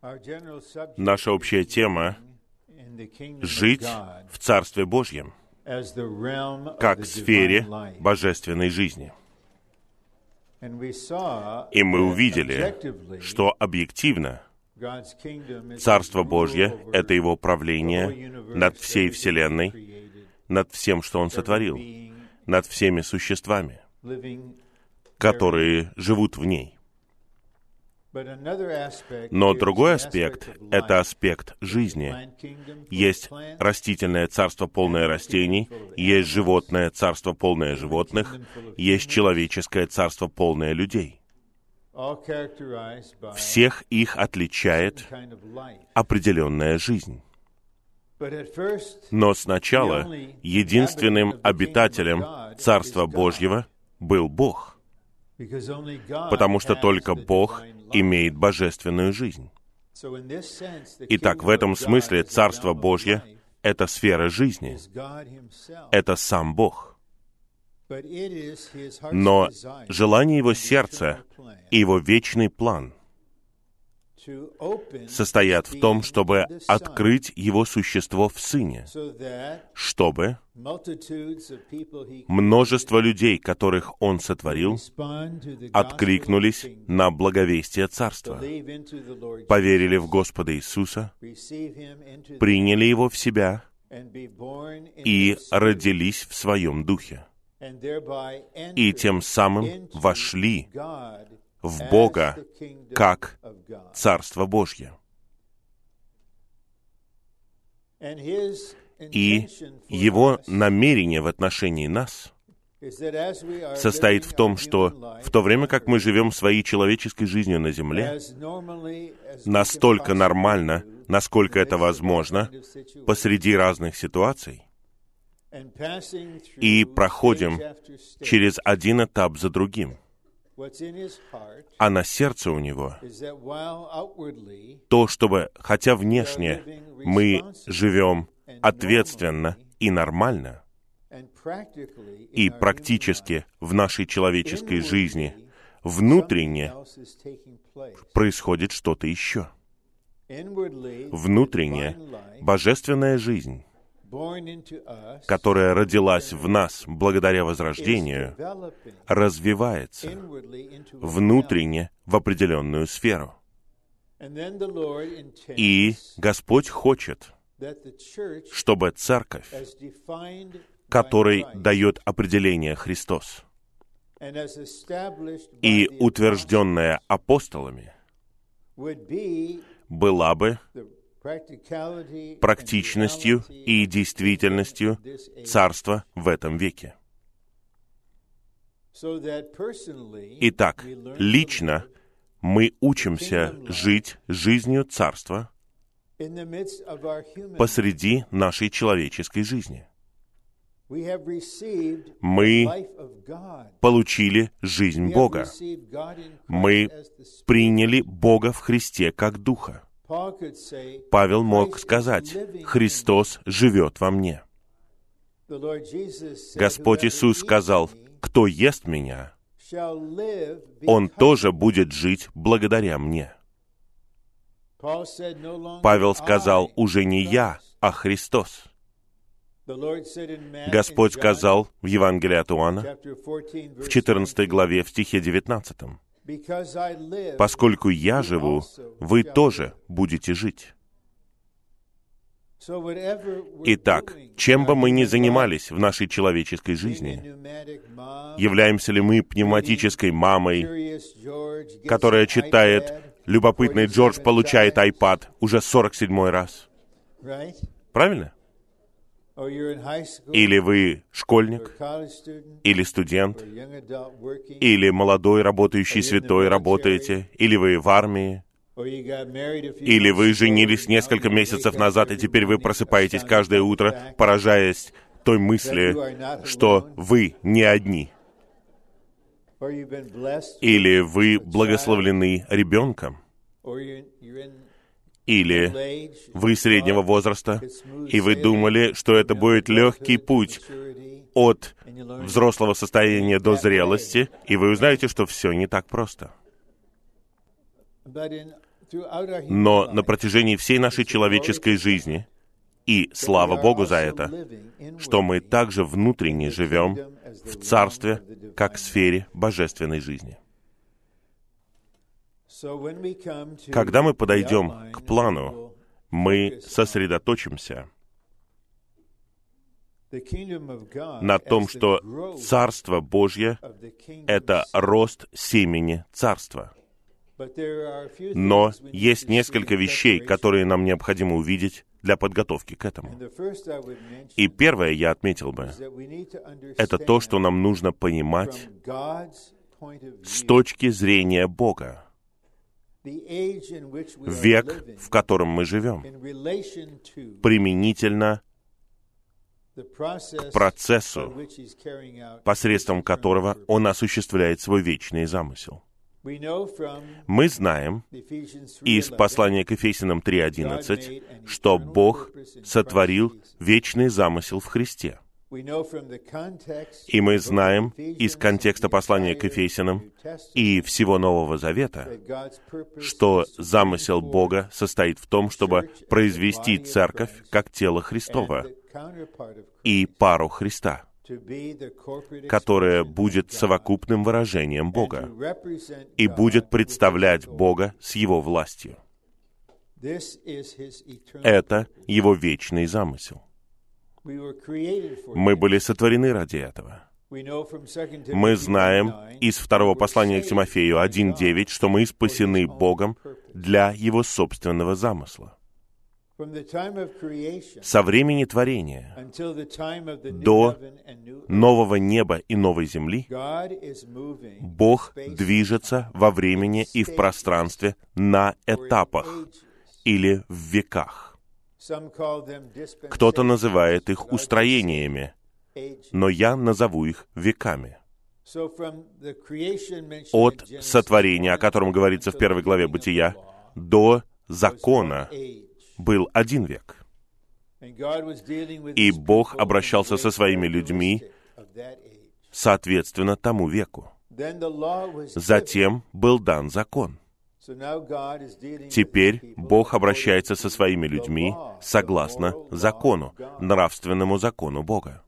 Наша общая тема — жить в Царстве Божьем, как в сфере божественной жизни. И мы увидели, что объективно Царство Божье — это Его правление над всей Вселенной, над всем, что Он сотворил, над всеми существами, которые живут в ней. Но другой аспект — это аспект жизни. Есть растительное царство, полное растений, есть животное царство, полное животных, есть человеческое царство, полное людей. Всех их отличает определенная жизнь. Но сначала единственным обитателем Царства Божьего был Бог, потому что только Бог имеет божественную жизнь. Итак, в этом смысле Царство Божье — это сфера жизни, это сам Бог. Но желание Его сердца и Его вечный план состоят в том, чтобы открыть Его существо в Сыне, чтобы множество людей, которых Он сотворил, откликнулись на благовестие Царства, поверили в Господа Иисуса, приняли Его в себя и родились в Своем Духе, и тем самым вошли в Бога как Царство Божье. И Его намерение в отношении нас состоит в том, что в то время, как мы живем своей человеческой жизнью на земле, настолько нормально, насколько это возможно, посреди разных ситуаций, и проходим через один этап за другим, а на сердце у него то, чтобы, хотя внешне мы живем ответственно и нормально, и практически в нашей человеческой жизни внутренне происходит что-то еще. Внутренне божественная жизнь, которая родилась в нас благодаря возрождению, развивается внутренне в определенную сферу. И Господь хочет, чтобы церковь, которой дает определение Христос, и утвержденная апостолами, была бы практичностью и действительностью Царства в этом веке. Итак, лично мы учимся жить жизнью Царства посреди нашей человеческой жизни. Мы получили жизнь Бога. Мы приняли Бога в Христе как Духа. Павел мог сказать: «Христос живет во мне». Господь Иисус сказал: «Кто ест Меня, он тоже будет жить благодаря Мне». Павел сказал: «Уже не я, а Христос». Господь сказал в Евангелии от Иоанна, в 14 главе, в стихе 19, «Поскольку Я живу, вы тоже будете жить». Итак, чем бы мы ни занимались в нашей человеческой жизни, являемся ли мы пневматической мамой, которая читает «Любопытный Джордж получает iPad» уже 47-й раз? Правильно? Или вы школьник, или студент, или молодой работающий святой работаете, или вы в армии, или вы женились несколько месяцев назад, и теперь вы просыпаетесь каждое утро, поражаясь той мысли, что вы не одни. Или вы благословлены ребенком, или вы среднего возраста, и вы думали, что это будет легкий путь от взрослого состояния до зрелости, и вы узнаете, что все не так просто. Но на протяжении всей нашей человеческой жизни, и слава Богу за это, что мы также внутренне живем в Царстве, как в сфере божественной жизни. Когда мы подойдем к плану, мы сосредоточимся на том, что Царство Божье — это рост семени Царства. Но есть несколько вещей, которые нам необходимо увидеть для подготовки к этому. И первое, я отметил бы, это то, что нам нужно понимать с точки зрения Бога. Век, в котором мы живем, применительно к процессу, посредством которого Он осуществляет свой вечный замысел. Мы знаем из послания к Ефесянам 3:11, что Бог сотворил вечный замысел в Христе. И мы знаем из контекста послания к Ефесянам и всего Нового Завета, что замысел Бога состоит в том, чтобы произвести церковь как тело Христово и пару Христа, которая будет совокупным выражением Бога и будет представлять Бога с Его властью. Это Его вечный замысел. Мы были сотворены ради этого. Мы знаем из второго послания к Тимофею 1:9, что мы спасены Богом для Его собственного замысла. Со времени творения до нового неба и новой земли Бог движется во времени и в пространстве на этапах или в веках. Кто-то называет их устроениями, но я назову их веками. От сотворения, о котором говорится в 1 главе Бытия, до закона был один век. И Бог обращался со своими людьми соответственно тому веку. Затем был дан закон. Теперь Бог обращается со своими людьми согласно закону, нравственному закону Бога.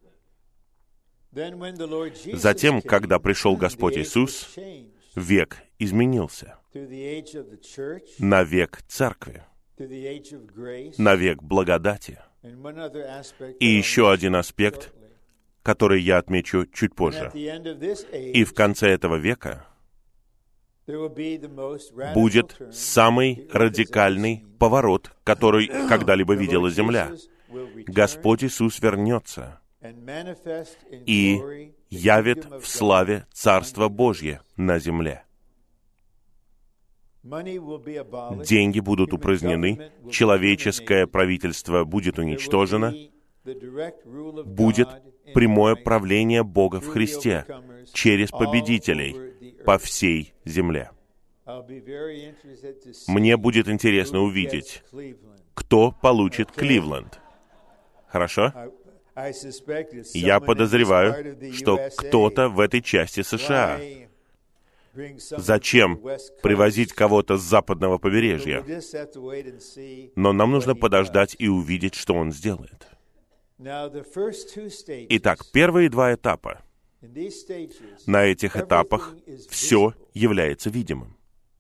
Затем, когда пришел Господь Иисус, век изменился на век Церкви, на век благодати. И еще один аспект, который я отмечу чуть позже. И в конце этого века будет самый радикальный поворот, который когда-либо видела Земля. Господь Иисус вернется и явит в славе Царство Божье на земле. Деньги будут упразднены, человеческое правительство будет уничтожено, будет прямое правление Бога в Христе через победителей по всей земле. Мне будет интересно увидеть, кто получит Кливленд. Хорошо? Я подозреваю, что кто-то в этой части США. Зачем привозить кого-то с западного побережья? Но нам нужно подождать и увидеть, что он сделает. Итак, первые два этапа. На этих этапах все является видимым,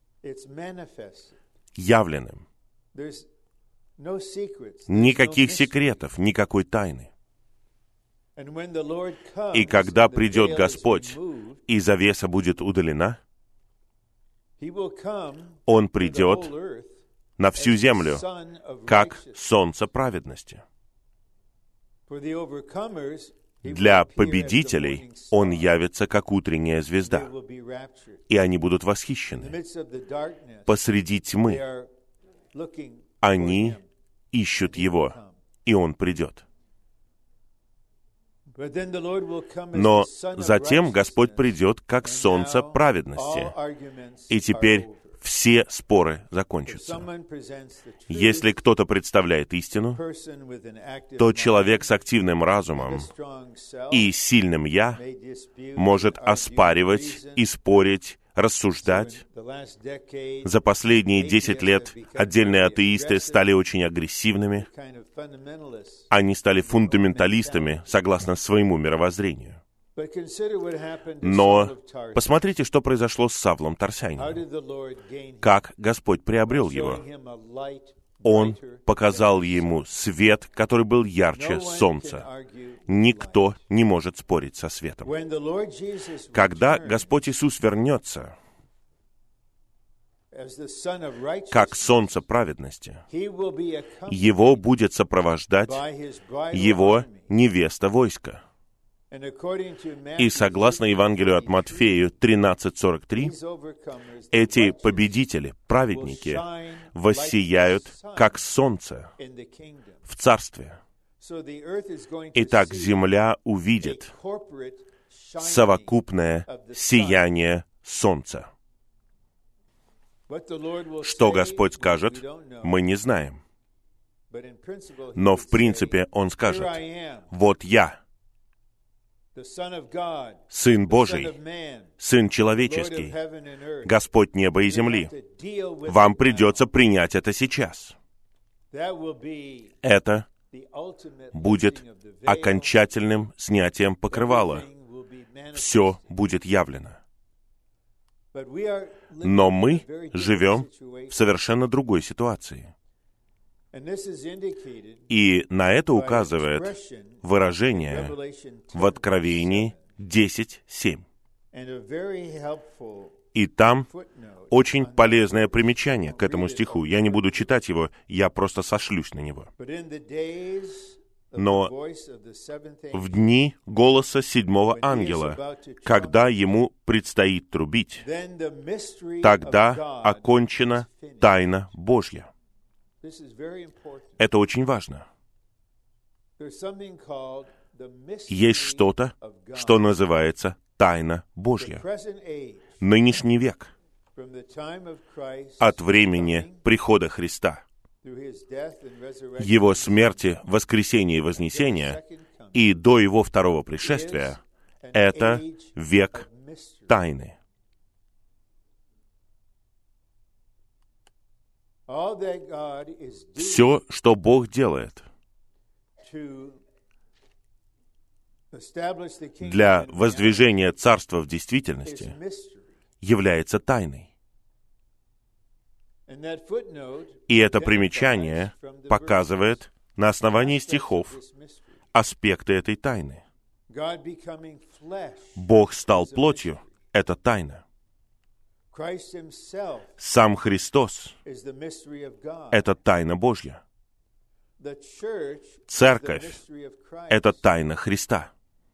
явленным. Никаких секретов, никакой тайны. И когда придет Господь, и завеса будет удалена, Он придет на всю землю, как солнце праведности. Для победителей Он явится, как утренняя звезда, и они будут восхищены. Посреди тьмы они ищут Его, и Он придет. Но затем Господь придет, как солнце праведности. И теперь все споры закончатся. Если кто-то представляет истину, то человек с активным разумом и сильным «я» может оспаривать и спорить рассуждать. За последние 10 лет отдельные атеисты стали очень агрессивными. Они стали фундаменталистами, согласно своему мировоззрению. Но посмотрите, что произошло с Савлом Тарсянином. Как Господь приобрел его. Он показал ему свет, который был ярче солнца. Никто не может спорить со светом. Когда Господь Иисус вернется, как солнце праведности, его будет сопровождать его невеста войска. И согласно Евангелию от Матфею 13:43, эти победители, праведники, воссияют, как солнце в Царстве. Итак, земля увидит совокупное сияние солнца. Что Господь скажет, мы не знаем. Но в принципе Он скажет: «Вот Я, Сын Божий, Сын Человеческий, Господь неба и земли. Вам придется принять это сейчас». Это будет окончательным снятием покрывала. Все будет явлено. Но мы живем в совершенно другой ситуации. И на это указывает выражение в Откровении 10:7. И там очень полезное примечание к этому стиху. Я не буду читать его, я просто сошлюсь на него. Но в дни голоса седьмого ангела, когда ему предстоит трубить, тогда окончена тайна Божья. Это очень важно. Есть что-то, что называется тайна Божья. Нынешний век, от времени прихода Христа, Его смерти, воскресения и вознесения, и до Его второго пришествия, это век тайны. Все, что Бог делает для воздвижения Царства в действительности, является тайной. И это примечание показывает на основании стихов аспекты этой тайны. Бог стал плотью — это тайна. Сам Христос — это тайна Божья. Церковь — это тайна Христа.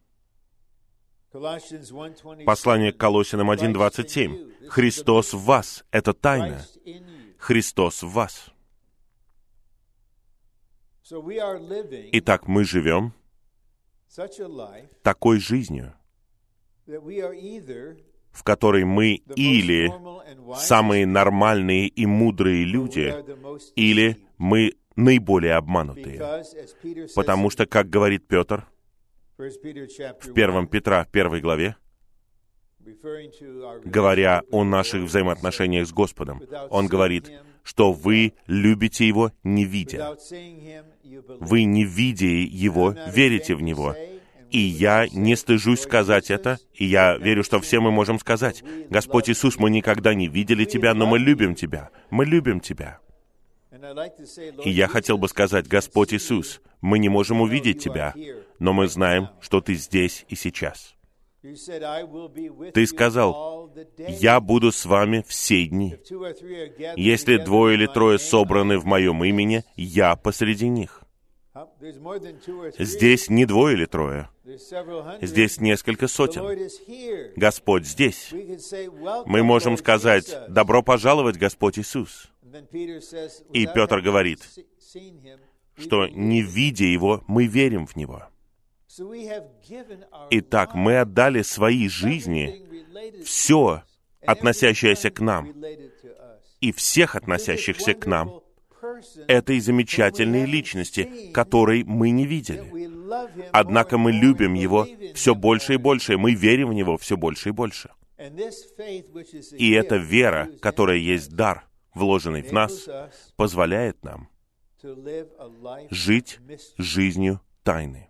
Послание к Колоссянам 1:27. Христос в вас — это тайна. Христос в вас. Итак, мы живем такой жизнью, в которой мы или самые нормальные и мудрые люди, или мы наиболее обманутые. Потому что, как говорит Петр в 1 Петра 1 главе, говоря о наших взаимоотношениях с Господом, он говорит, что вы любите Его, не видя. Вы, не видя Его, верите в Него. И я не стыжусь сказать это, и я верю, что все мы можем сказать: «Господь Иисус, мы никогда не видели Тебя, но мы любим Тебя. Мы любим Тебя». И я хотел бы сказать: «Господь Иисус, мы не можем увидеть Тебя, но мы знаем, что Ты здесь и сейчас». Ты сказал: «Я буду с вами все дни. Если 2 или 3 собраны в Моем имени, Я посреди них». Здесь не 2 или 3. Здесь несколько сотен. Господь здесь. Мы можем сказать: «Добро пожаловать, Господь Иисус». И Петр говорит, что, не видя Его, мы верим в Него. Итак, мы отдали свои жизни, все, относящееся к нам, и всех относящихся к нам, этой замечательной личности, которой мы не видели. Однако мы любим Его все больше и больше, мы верим в Него все больше и больше. И эта вера, которая есть дар, вложенный в нас, позволяет нам жить жизнью тайны.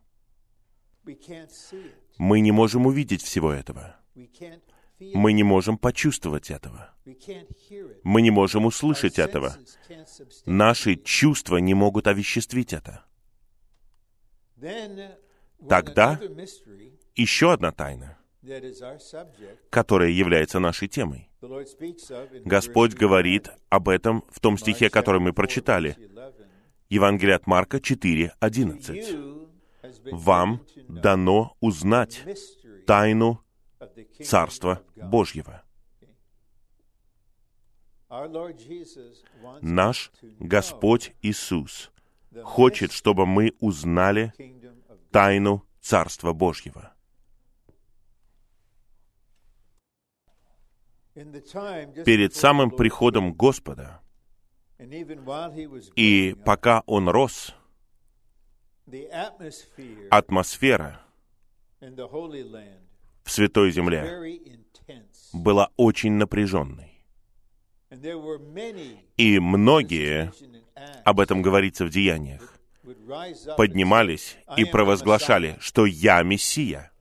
Мы не можем увидеть всего этого. Мы не можем почувствовать этого. Мы не можем услышать этого. Наши чувства не могут овеществить это. Тогда еще одна тайна, которая является нашей темой. Господь говорит об этом в том стихе, который мы прочитали. Евангелие от Марка 4:11. «Вам дано узнать тайну Царства Божьего». Наш Господь Иисус хочет, чтобы мы узнали тайну Царства Божьего. Перед самым приходом Господа, и пока Он рос, атмосфера в Святой Земле была очень напряженной. И многие, об этом говорится в Деяниях, поднимались и провозглашали, что «Я Мессия».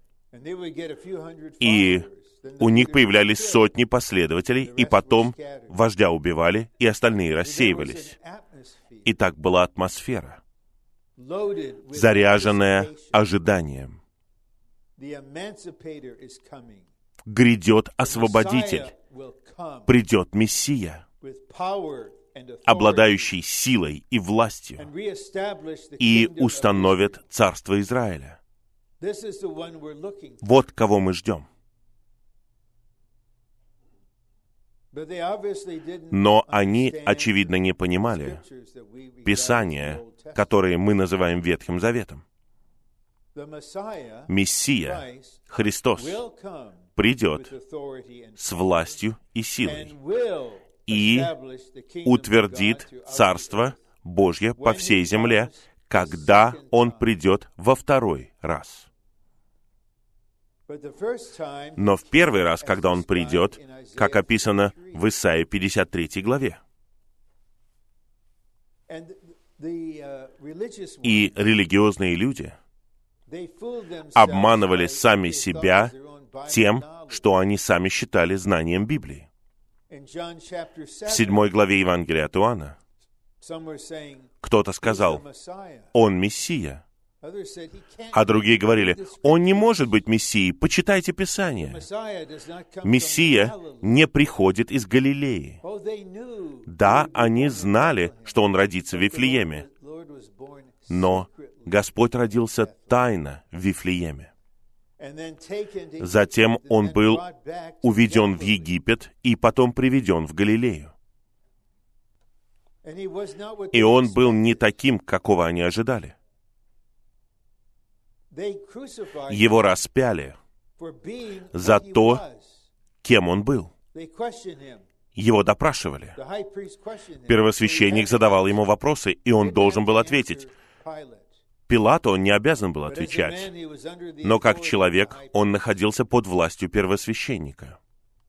И у них появлялись сотни последователей, и потом вождя убивали, и остальные рассеивались. И так была атмосфера, заряженная ожиданием. Грядет Освободитель, придет Мессия, обладающий силой и властью, и установит Царство Израиля. Вот кого мы ждем. Но они, очевидно, не понимали Писания, которые мы называем Ветхим Заветом. Мессия, Христос, придет с властью и силой и утвердит Царство Божье по всей земле, когда Он придет во второй раз. Но в первый раз, когда Он придет, как описано в Исаии 53 главе, и религиозные люди обманывали сами себя тем, что они сами считали знанием Библии. В 7 главе Евангелия от Иоанна кто-то сказал: «Он Мессия». А другие говорили: «Он не может быть Мессией, почитайте Писание». Мессия не приходит из Галилеи. Да, они знали, что Он родится в Вифлееме, но Господь родился тайно в Вифлееме. Затем Он был уведен в Египет и потом приведен в Галилею. И Он был не таким, какого они ожидали. Его распяли за то, кем Он был. Его допрашивали. Первосвященник задавал Ему вопросы, и Он должен был ответить. Пилату он не обязан был отвечать, но как человек он находился под властью первосвященника.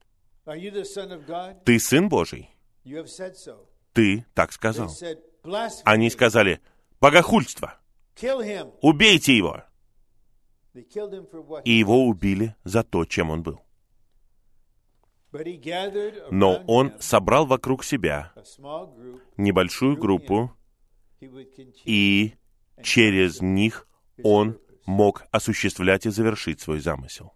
«Ты Сын Божий?» «Ты так сказал». Они сказали: «Богохульство! Убейте Его!» И Его убили за то, чем Он был. Но Он собрал вокруг себя небольшую группу, и через них Он мог осуществлять и завершить свой замысел.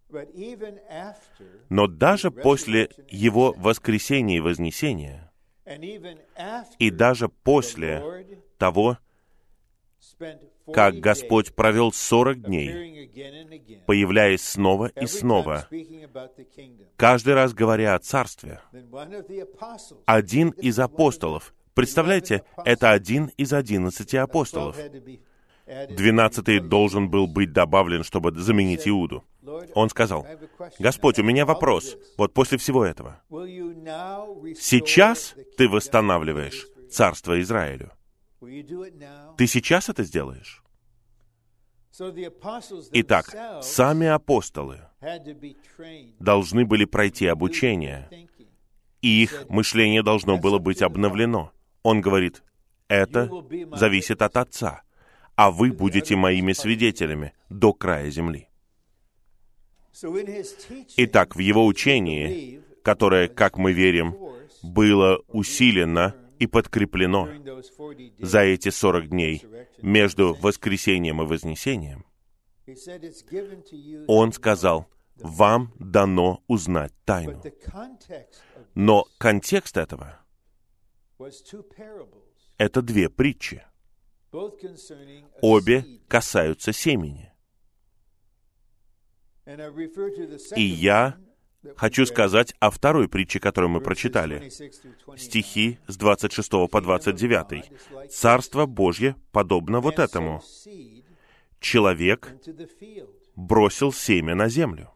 Но даже после Его воскресения и вознесения, и даже после того, как Господь провел 40 дней, появляясь снова и снова, каждый раз говоря о Царстве, один из апостолов, представляете, это один из 11 апостолов, 12-й должен был быть добавлен, чтобы заменить Иуду. Он сказал: «Господь, у меня вопрос, вот после всего этого. Сейчас Ты восстанавливаешь Царство Израилю? Ты сейчас это сделаешь?» Итак, сами апостолы должны были пройти обучение, и их мышление должно было быть обновлено. Он говорит, это зависит от Отца, а вы будете моими свидетелями до края земли. Итак, в его учении, которое, как мы верим, было усилено и подкреплено за эти 40 дней между воскресением и вознесением, он сказал, вам дано узнать тайну. Но контекст этого — это две притчи. Обе касаются семени. И я хочу сказать о второй притче, которую мы прочитали. Стихи с 26 по 29. «Царство Божье подобно вот этому. Человек бросил семя на землю,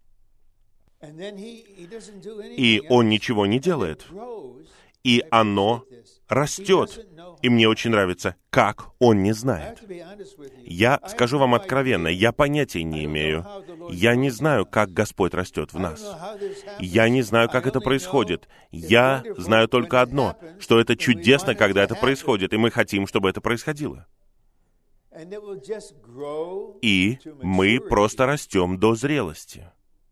и он ничего не делает, и оно растет». И мне очень нравится, как он не знает. Я скажу вам откровенно, я понятия не имею. Я не знаю, как Господь растет в нас. Я не знаю, как это происходит. Я знаю только одно, что это чудесно, когда это происходит, и мы хотим, чтобы это происходило. И мы просто растем до зрелости.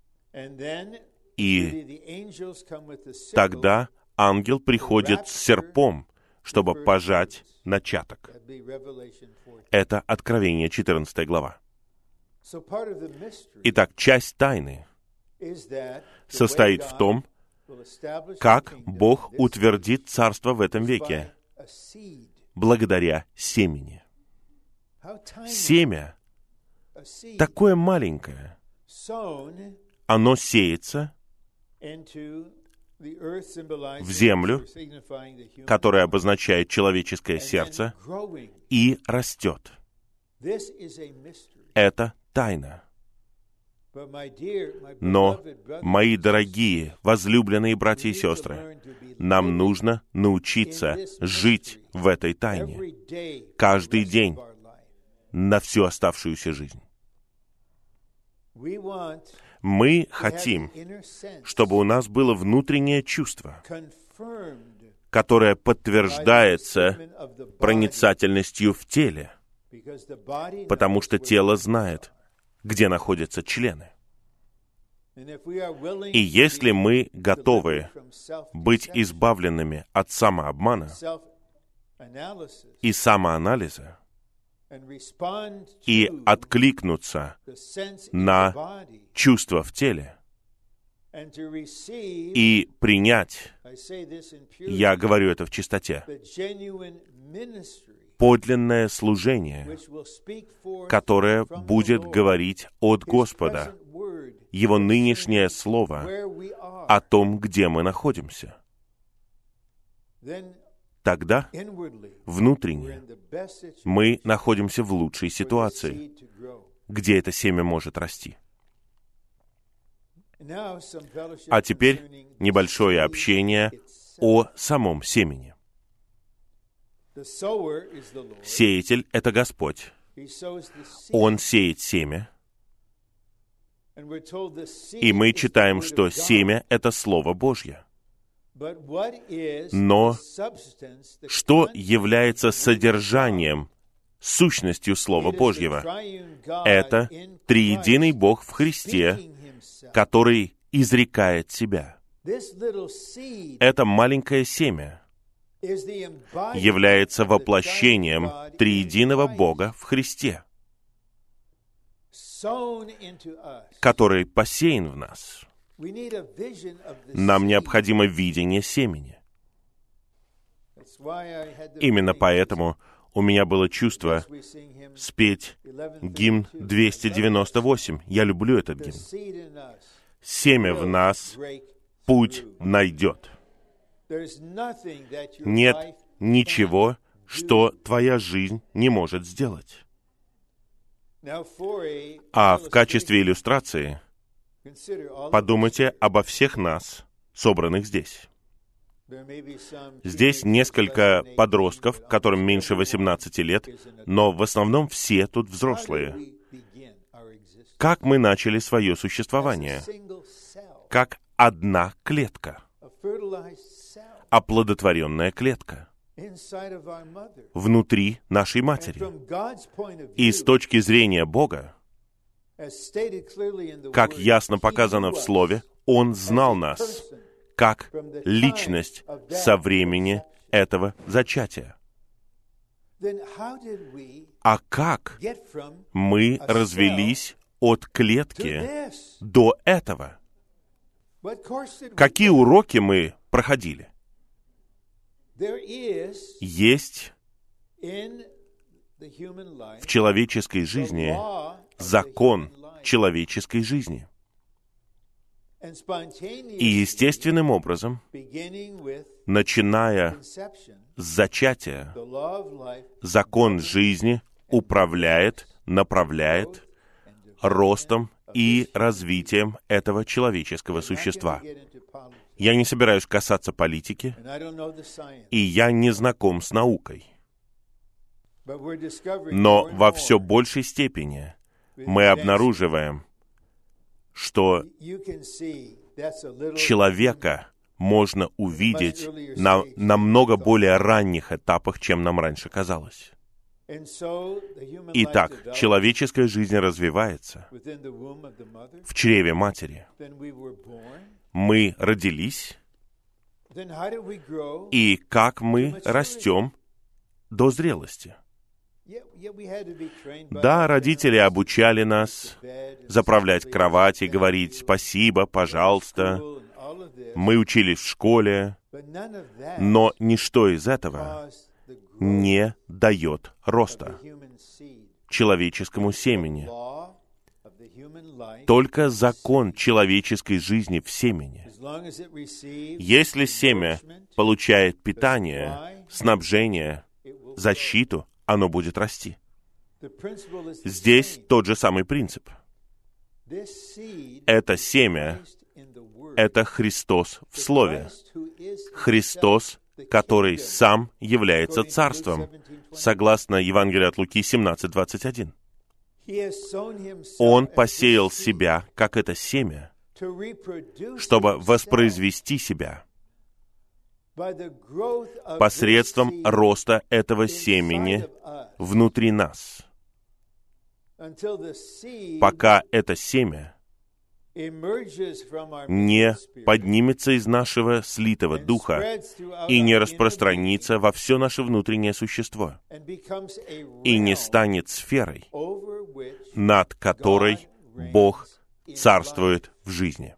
И тогда ангел приходит с серпом, чтобы пожать начаток. Это Откровение, 14 глава. Итак, часть тайны состоит в том, как Бог утвердит царство в этом веке благодаря семени. Семя такое маленькое. Оно сеется в землю, которая обозначает человеческое сердце, и растет. Это тайна. Но, мои дорогие, возлюбленные братья и сестры, нам нужно научиться жить в этой тайне каждый день на всю оставшуюся жизнь. Мы хотим, чтобы у нас было внутреннее чувство, которое подтверждается проницательностью в теле, потому что тело знает, где находятся члены. И если мы готовы быть избавленными от самообмана и самоанализа, и откликнуться на чувства в теле, и принять, я говорю это в чистоте, подлинное служение, которое будет говорить от Господа, Его нынешнее слово о том, где мы находимся. Тогда, внутренне, мы находимся в лучшей ситуации, где это семя может расти. А теперь небольшое общение о самом семени. Сеятель — это Господь. Он сеет семя, и мы читаем, что семя — это Слово Божье. Но что является содержанием, сущностью Слова Божьего? Это триединый Бог в Христе, который изрекает себя. Это маленькое семя является воплощением триединого Бога в Христе, который посеян в нас. Нам необходимо видение семени. Именно поэтому у меня было чувство спеть гимн 298. Я люблю этот гимн. Семя в нас путь найдет. Нет ничего, что твоя жизнь не может сделать. А в качестве иллюстрации подумайте обо всех нас, собранных здесь. Здесь несколько подростков, которым меньше 18 лет, но в основном все тут взрослые. как мы начали свое существование, как одна клетка, оплодотворенная клетка внутри нашей матери. И с точки зрения Бога, как ясно показано в Слове, Он знал нас как личность со времени этого зачатия. А как мы развелись от клетки до этого? Какие уроки мы проходили? Есть в человеческой жизни закон человеческой жизни. И естественным образом, начиная с зачатия, закон жизни управляет, направляет ростом и развитием этого человеческого существа. Я не собираюсь касаться политики, и я не знаком с наукой. Но во все большей степени мы обнаруживаем, что человека можно увидеть на намного более ранних этапах, чем нам раньше казалось. Итак, человеческая жизнь развивается в чреве матери. Мы родились, и как мы растем до зрелости. Да, родители обучали нас заправлять кровать и говорить «спасибо», «пожалуйста». Мы учились в школе, но ничто из этого не дает роста человеческому семени. Только закон человеческой жизни в семени. Если семя получает питание, снабжение, защиту, оно будет расти. Здесь тот же самый принцип. Это семя — это Христос в Слове. Христос, который сам является Царством, согласно Евангелию от Луки 17:21. Он посеял себя, как это семя, чтобы воспроизвести себя посредством роста этого семени внутри нас, пока это семя не поднимется из нашего слитого духа и не распространится во все наше внутреннее существо и не станет сферой, над которой Бог царствует в жизни.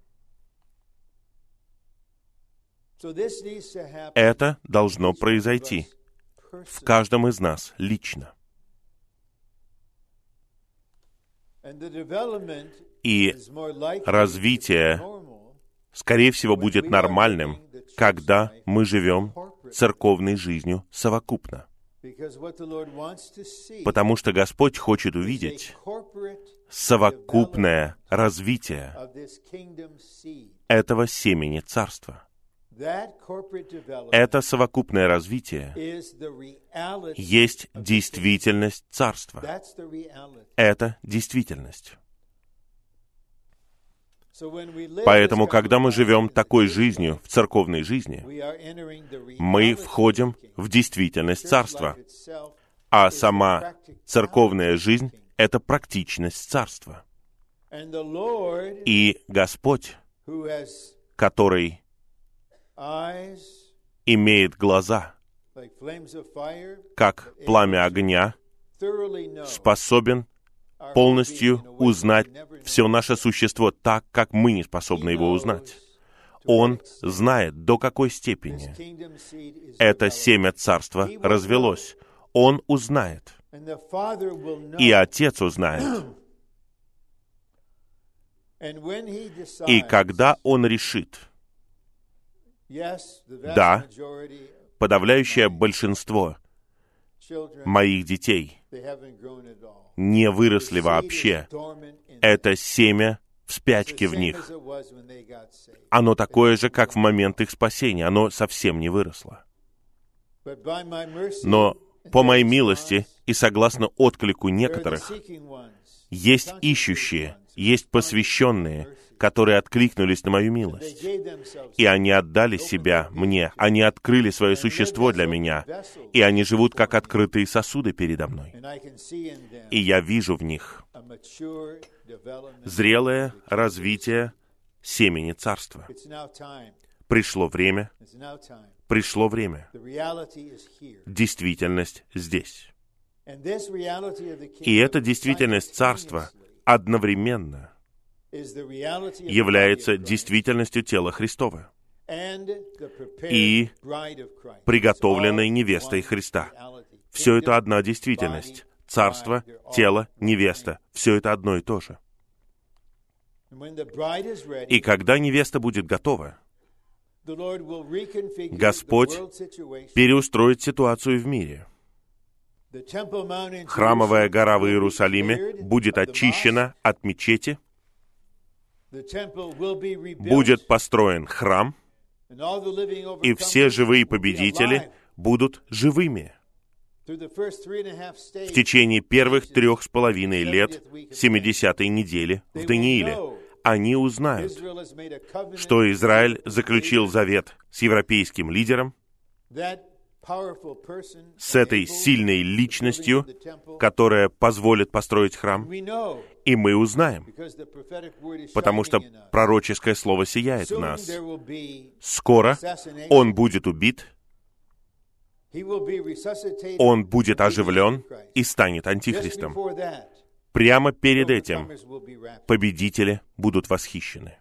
Это должно произойти в каждом из нас лично. И развитие, скорее всего, будет нормальным, когда мы живем церковной жизнью совокупно. Потому что Господь хочет увидеть совокупное развитие этого семени Царства. Это совокупное развитие есть действительность Царства. Это действительность. Поэтому, когда мы живем такой жизнью, в церковной жизни, мы входим в действительность Царства. А сама церковная жизнь — это практичность Царства. И Господь, который имеет глаза, как пламя огня, способен полностью узнать все наше существо так, как мы не способны его узнать. Он знает, до какой степени это семя Царства развелось. Он узнает. И Отец узнает. И когда Он решит, да, подавляющее большинство моих детей не выросли вообще. Это семя в спячке в них. Оно такое же, как в момент их спасения. Оно совсем не выросло. Но по моей милости и согласно отклику некоторых, Есть ищущие, есть посвященные, которые откликнулись на мою милость. И они отдали себя мне, они открыли свое существо для меня, и они живут как открытые сосуды передо мной. И я вижу в них зрелое развитие семени Царства. Пришло время. Действительность здесь. И эта действительность Царства одновременно является действительностью тела Христова и приготовленной невестой Христа. Все это одна действительность. Царство, тело, невеста. Все это одно и то же. И когда невеста будет готова, Господь переустроит ситуацию в мире. Храмовая гора в Иерусалиме будет очищена от мечети, будет построен храм, и все живые победители будут живыми. В течение первых 3,5 лет 70-й недели в Данииле они узнают, что Израиль заключил завет с европейским лидером, с этой сильной личностью, которая позволит построить храм. И мы узнаем, потому что пророческое слово сияет в нас. Скоро он будет убит, он будет оживлен и станет антихристом. Прямо перед этим победители будут восхищены.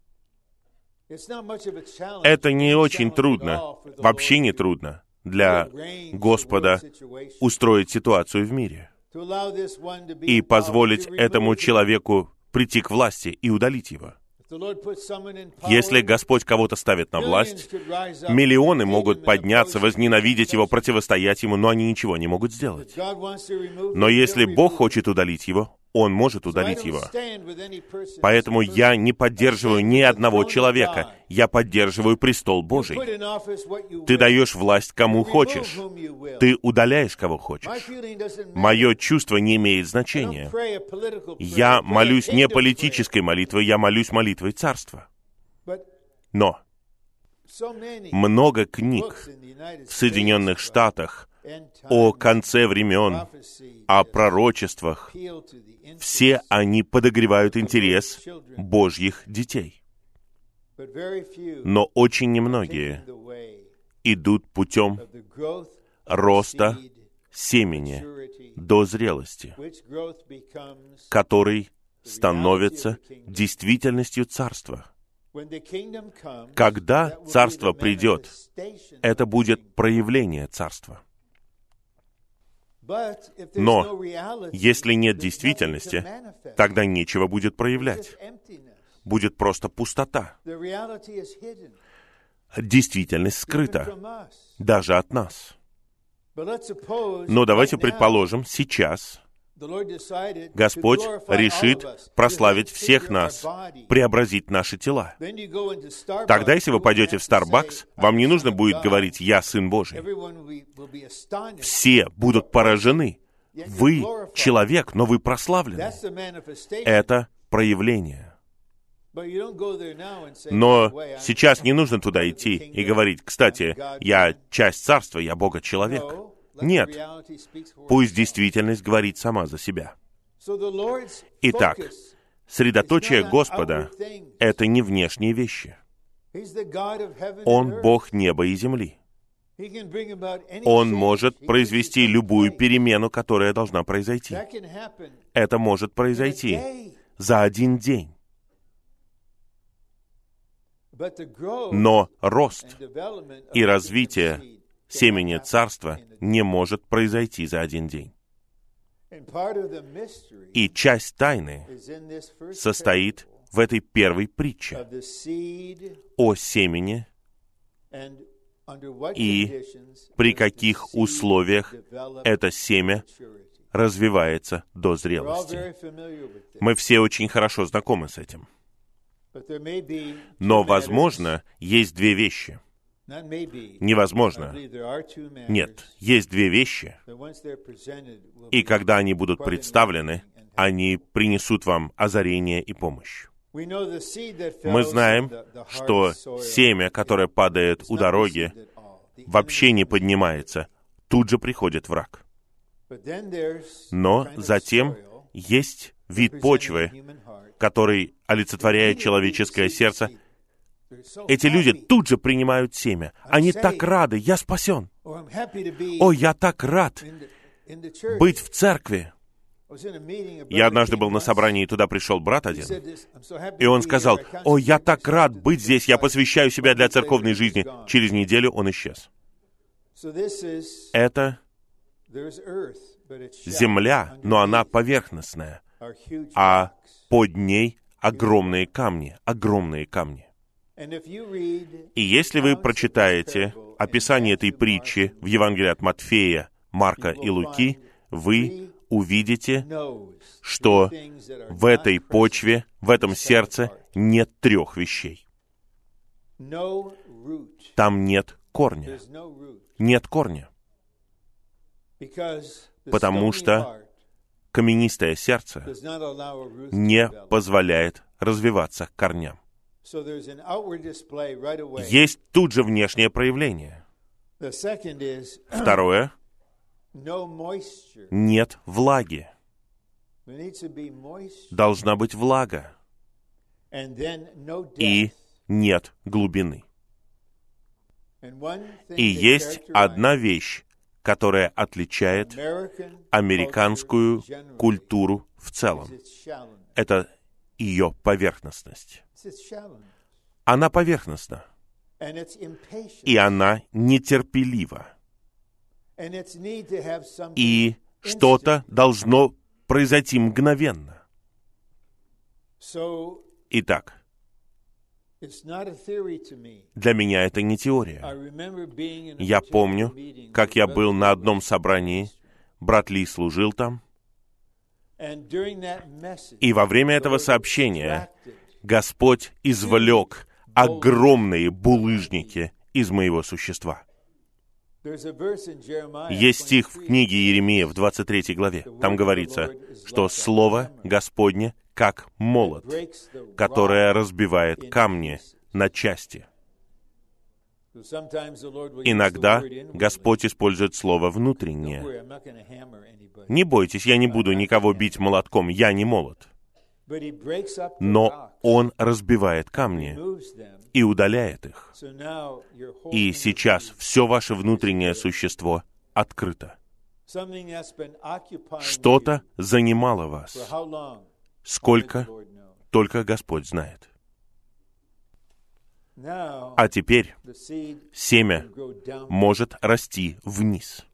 Это не очень трудно, вообще не трудно для Господа устроить ситуацию в мире и позволить этому человеку прийти к власти и удалить его. Если Господь кого-то ставит на власть, миллионы могут подняться, возненавидеть его, противостоять ему, но они ничего не могут сделать. Но если Бог хочет удалить его, Он может удалить его. Поэтому я не поддерживаю ни одного человека. Я поддерживаю престол Божий. Ты даешь власть кому хочешь. Ты удаляешь кого хочешь. Мое чувство не имеет значения. Я молюсь не политической молитвой, я молюсь молитвой Царства. Но много книг в Соединенных Штатах о конце времен, о пророчествах, все они подогревают интерес Божьих детей. Но очень немногие идут путем роста семени до зрелости, который становится действительностью Царства. Когда Царство придет, это будет проявление Царства. Но если нет действительности, тогда нечего будет проявлять. Будет просто пустота. Действительность скрыта, даже от нас. Но давайте предположим, сейчас Господь решит прославить всех нас, преобразить наши тела. Тогда, если вы пойдете в Starbucks, вам не нужно будет говорить «Я Сын Божий». Все будут поражены. Вы человек, но вы прославлены. Это проявление. Но сейчас не нужно туда идти и говорить: «Кстати, я часть Царства, я Бога-человек». Нет. Пусть действительность говорит сама за себя. Итак, средоточие Господа — это не внешние вещи. Он Бог неба и земли. Он может произвести любую перемену, которая должна произойти. Это может произойти за один день. Но рост и развитие семени Царства не может произойти за один день. И часть тайны состоит в этой первой притче о семени и при каких условиях это семя развивается до зрелости. Мы все очень хорошо знакомы с этим. Но, возможно, есть две вещи. Невозможно. Нет, есть две вещи. И когда они будут представлены, они принесут вам озарение и помощь. Мы знаем, что семя, которое падает у дороги, вообще не поднимается. Тут же приходит враг. Но затем есть вид почвы, который олицетворяет человеческое сердце. Эти люди тут же принимают семя. Они так рады, я спасен. О, я так рад быть в церкви. Я однажды был на собрании, и туда пришел брат один, и он сказал: «О, я так рад быть здесь, я посвящаю себя для церковной жизни». Через неделю он исчез. Это земля, но она поверхностная, а под ней огромные камни, огромные камни. И если вы прочитаете описание этой притчи в Евангелии от Матфея, Марка и Луки, вы увидите, что в этой почве, в этом сердце нет 3 вещей. Там нет корня. Нет корня. Потому что каменистое сердце не позволяет развиваться корням. Есть тут же внешнее проявление. Второе. Нет влаги. Должна быть влага. И нет глубины. И есть одна вещь, которая отличает американскую культуру в целом. Это ее поверхностность. Она поверхностна. И она нетерпелива. И что-то должно произойти мгновенно. Итак, для меня это не теория. Я помню, как я был на одном собрании, брат Ли служил там, и во время этого сообщения Господь извлек огромные булыжники из моего существа. Есть стих в книге Иеремии в 23 главе. Там говорится, что Слово Господне как молот, которое разбивает камни на части. Иногда Господь использует слово «внутреннее». Не бойтесь, я не буду никого бить молотком, я не молот. Но Он разбивает камни и удаляет их. И сейчас все ваше внутреннее существо открыто. Что-то занимало вас. Сколько? Только Господь знает. А теперь семя может расти вниз.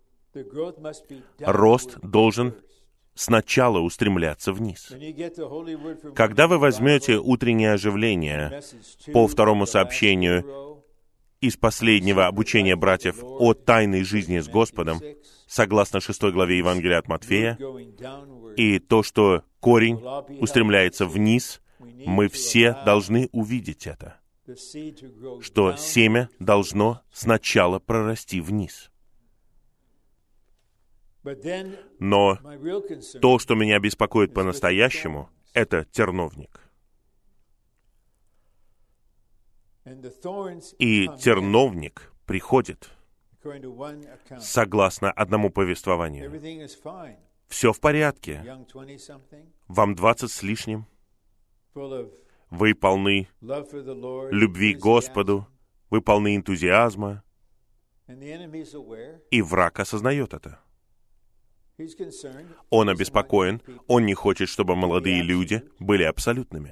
Рост должен сначала устремляться вниз. Когда вы возьмете утреннее оживление по второму сообщению из последнего обучения братьев о тайной жизни с Господом, согласно 6 главе Евангелия от Матфея, и то, что корень устремляется вниз, мы все должны увидеть это, что семя должно сначала прорасти вниз. Но то, что меня беспокоит по-настоящему, это терновник. И терновник приходит согласно одному повествованию. Все в порядке. Вам 20 с лишним. Вы полны любви к Господу. Вы полны энтузиазма. И враг осознает это. Он обеспокоен. Он не хочет, чтобы молодые люди были абсолютными.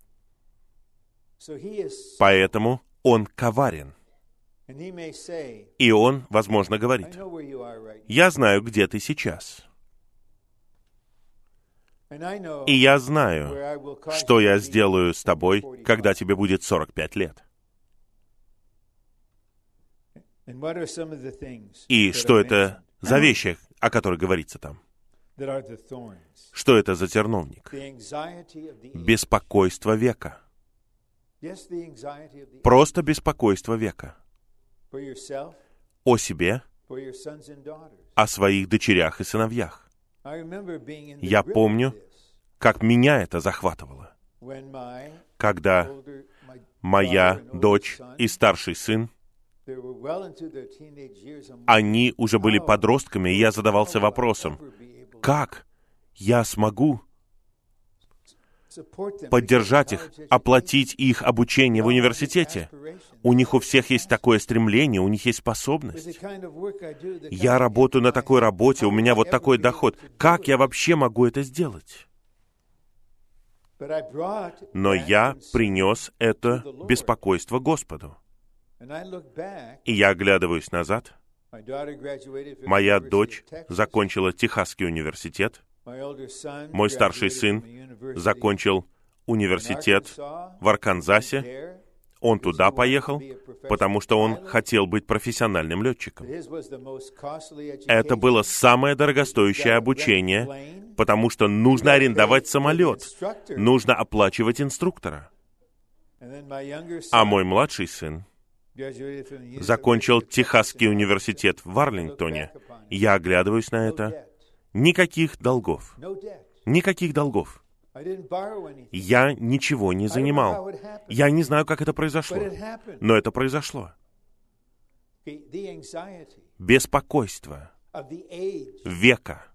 Поэтому он коварен. И он, возможно, говорит: «Я знаю, где ты сейчас. И я знаю, что я сделаю с тобой, когда тебе будет 45 лет». И что это за вещи, о которых говорится там? Что это за терновник? Беспокойство века. Просто беспокойство века. О себе, о своих дочерях и сыновьях. Я помню, как меня это захватывало. Когда моя дочь и старший сын, они уже были подростками, и я задавался вопросом, как я смогу поддержать их, оплатить их обучение в университете. У них у всех есть такое стремление, у них есть способность. Я работаю на такой работе, у меня вот такой доход. Как я вообще могу это сделать? Но я принес это беспокойство Господу. И я оглядываюсь назад. Моя дочь закончила Техасский университет. Мой старший сын закончил университет в Арканзасе. Он туда поехал, потому что он хотел быть профессиональным летчиком. Это было самое дорогостоящее обучение, потому что нужно арендовать самолет, нужно оплачивать инструктора. А мой младший сын закончил Техасский университет в Арлингтоне. Я оглядываюсь на это. Никаких долгов. Никаких долгов. Я ничего не занимал. Я не знаю, как это произошло. Но это произошло. Беспокойство века.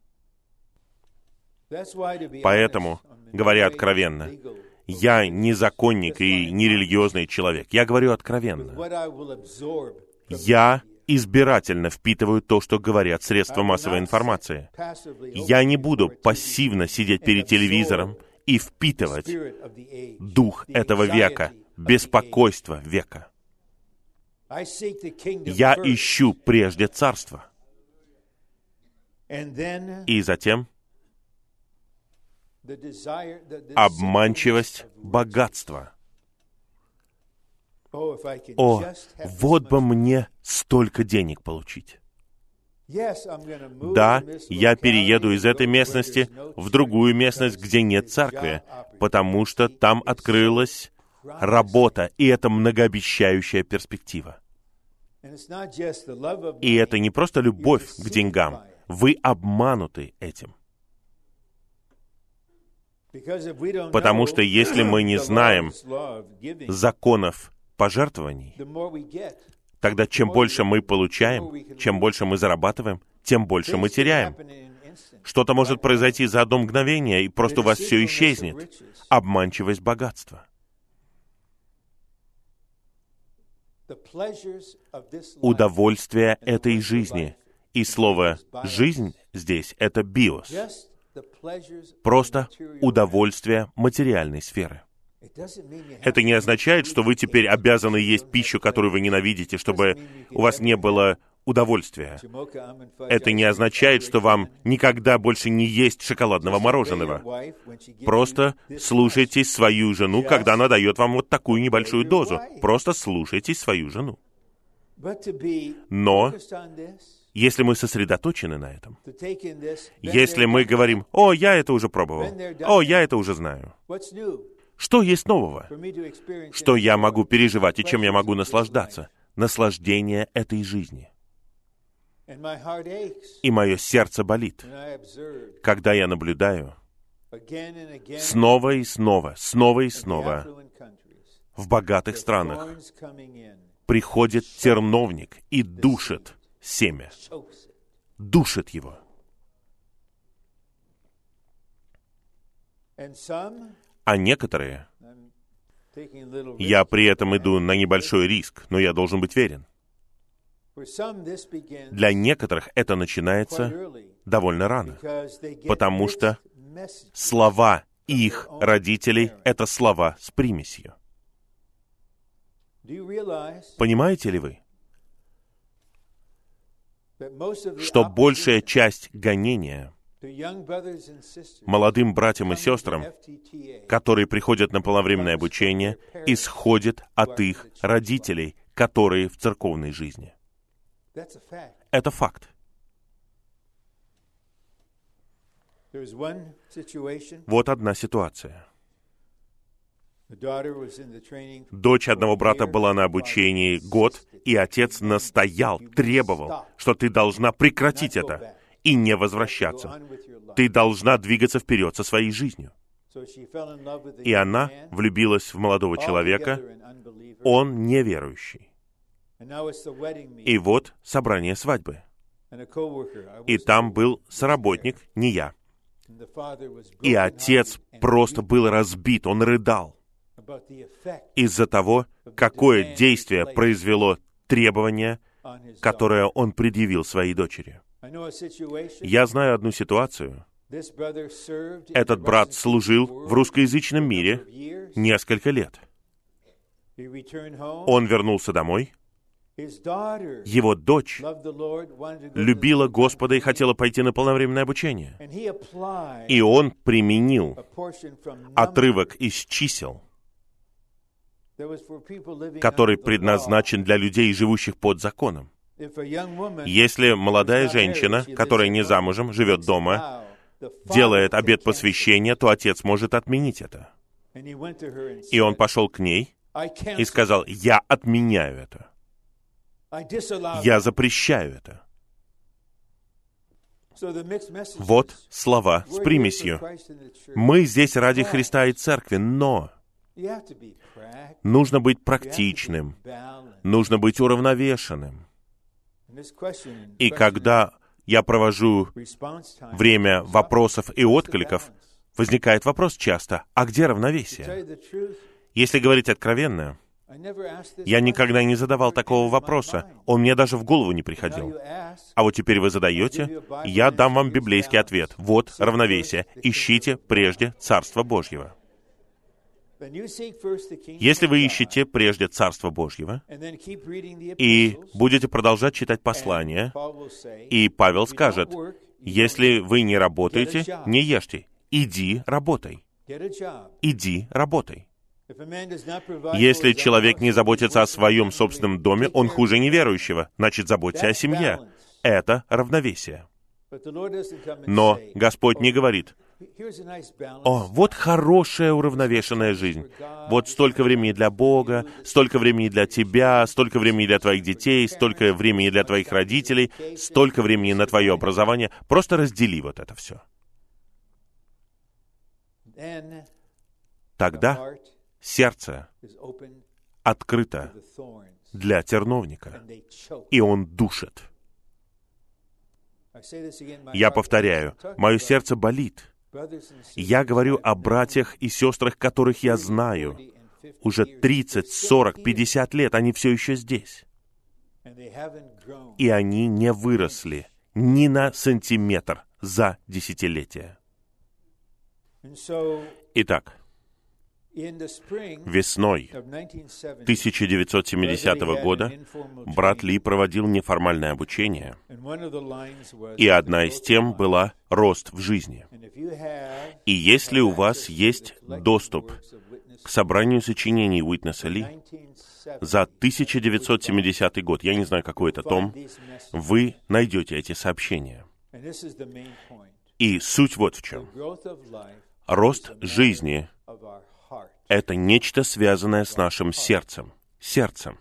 Поэтому, говоря откровенно, я не законник и не религиозный человек. Я говорю откровенно. Я избирательно впитываю то, что говорят средства массовой информации. Я не буду пассивно сидеть перед телевизором и впитывать дух этого века, беспокойство века. Я ищу прежде царство. И затем обманчивость богатства. О, вот бы мне столько денег получить. Да, я перееду из этой местности в другую местность, где нет церкви, потому что там открылась работа, и это многообещающая перспектива. И это не просто любовь к деньгам. Вы обмануты этим. Потому что если мы не знаем законов пожертвований, тогда чем больше мы получаем, чем больше мы зарабатываем, тем больше мы теряем. Что-то может произойти за одно мгновение, и просто у вас все исчезнет. Обманчивость богатства. Удовольствие этой жизни. И слово «жизнь» здесь — это биос. Просто удовольствие материальной сферы. Это не означает, что вы теперь обязаны есть пищу, которую вы ненавидите, чтобы у вас не было удовольствия. Это не означает, что вам никогда больше не есть шоколадного мороженого. Просто слушайтесь свою жену, когда она дает вам вот такую небольшую дозу. Просто слушайтесь свою жену. Но если мы сосредоточены на этом, если мы говорим: «О, я это уже пробовал», «О, я это уже знаю», что есть нового? Что я могу переживать и чем я могу наслаждаться? Наслаждение этой жизни. И мое сердце болит, когда я наблюдаю снова и снова, снова и снова в богатых странах приходит терновник и душит семя. Душит его. А некоторые, я при этом иду на небольшой риск, но я должен быть верен. Для некоторых это начинается довольно рано, потому что слова их родителей — это слова с примесью. Понимаете ли вы, что большая часть гонения молодым братьям и сестрам, которые приходят на полновременное обучение, исходит от их родителей, которые в церковной жизни. Это факт. Вот одна ситуация. Дочь одного брата была на обучении год, и отец настоял, требовал, что ты должна прекратить это. и не возвращаться. Ты должна двигаться вперед со своей жизнью. И она влюбилась в молодого человека, он неверующий. И вот собрание свадьбы. И там был соработник, не я. И отец просто был разбит, он рыдал из-за того, какое действие произвело требование, которое он предъявил своей дочери. Я знаю одну ситуацию. Этот брат служил в русскоязычном мире несколько лет. Он вернулся домой. Его дочь любила Господа и хотела пойти на полновременное обучение. И он применил отрывок из чисел, который предназначен для людей, живущих под законом. Если молодая женщина, которая не замужем, живет дома, делает обет посвящения, то отец может отменить это. И он пошел к ней и сказал: «Я отменяю это. Я запрещаю это». Вот слова с примесью. Мы здесь ради Христа и Церкви, но нужно быть практичным, нужно быть уравновешенным. И когда я провожу время вопросов и откликов, возникает вопрос часто: а где равновесие? Если говорить откровенно, я никогда не задавал такого вопроса, он мне даже в голову не приходил. А вот теперь вы задаете, я дам вам библейский ответ. Вот равновесие. Ищите прежде Царство Божьего. Если вы ищете прежде Царство Божьего и будете продолжать читать послания, и Павел скажет: если вы не работаете, не ешьте. Иди работай. Иди работай. Если человек не заботится о своем собственном доме, он хуже неверующего. Значит, заботься о семье. Это равновесие. Но Господь не говорит: «О, вот хорошая уравновешенная жизнь. Вот столько времени для Бога, столько времени для тебя, столько времени для твоих детей, столько времени для твоих родителей, столько времени на твое образование. Просто раздели вот это все». Тогда сердце открыто для терновника, и он душит. Я повторяю, мое сердце болит. Я говорю о братьях и сестрах, которых я знаю. Уже 30, 40, 50 лет они все еще здесь. И они не выросли ни на сантиметр за десятилетия. Итак, весной 1970 года брат Ли проводил неформальное обучение, и одна из тем была «Рост в жизни». И если у вас есть доступ к собранию сочинений Уитнеса Ли за 1970 год, я не знаю, какой это том, вы найдете эти сообщения. И суть вот в чем. Рост жизни — это нечто, связанное с нашим сердцем. Сердцем.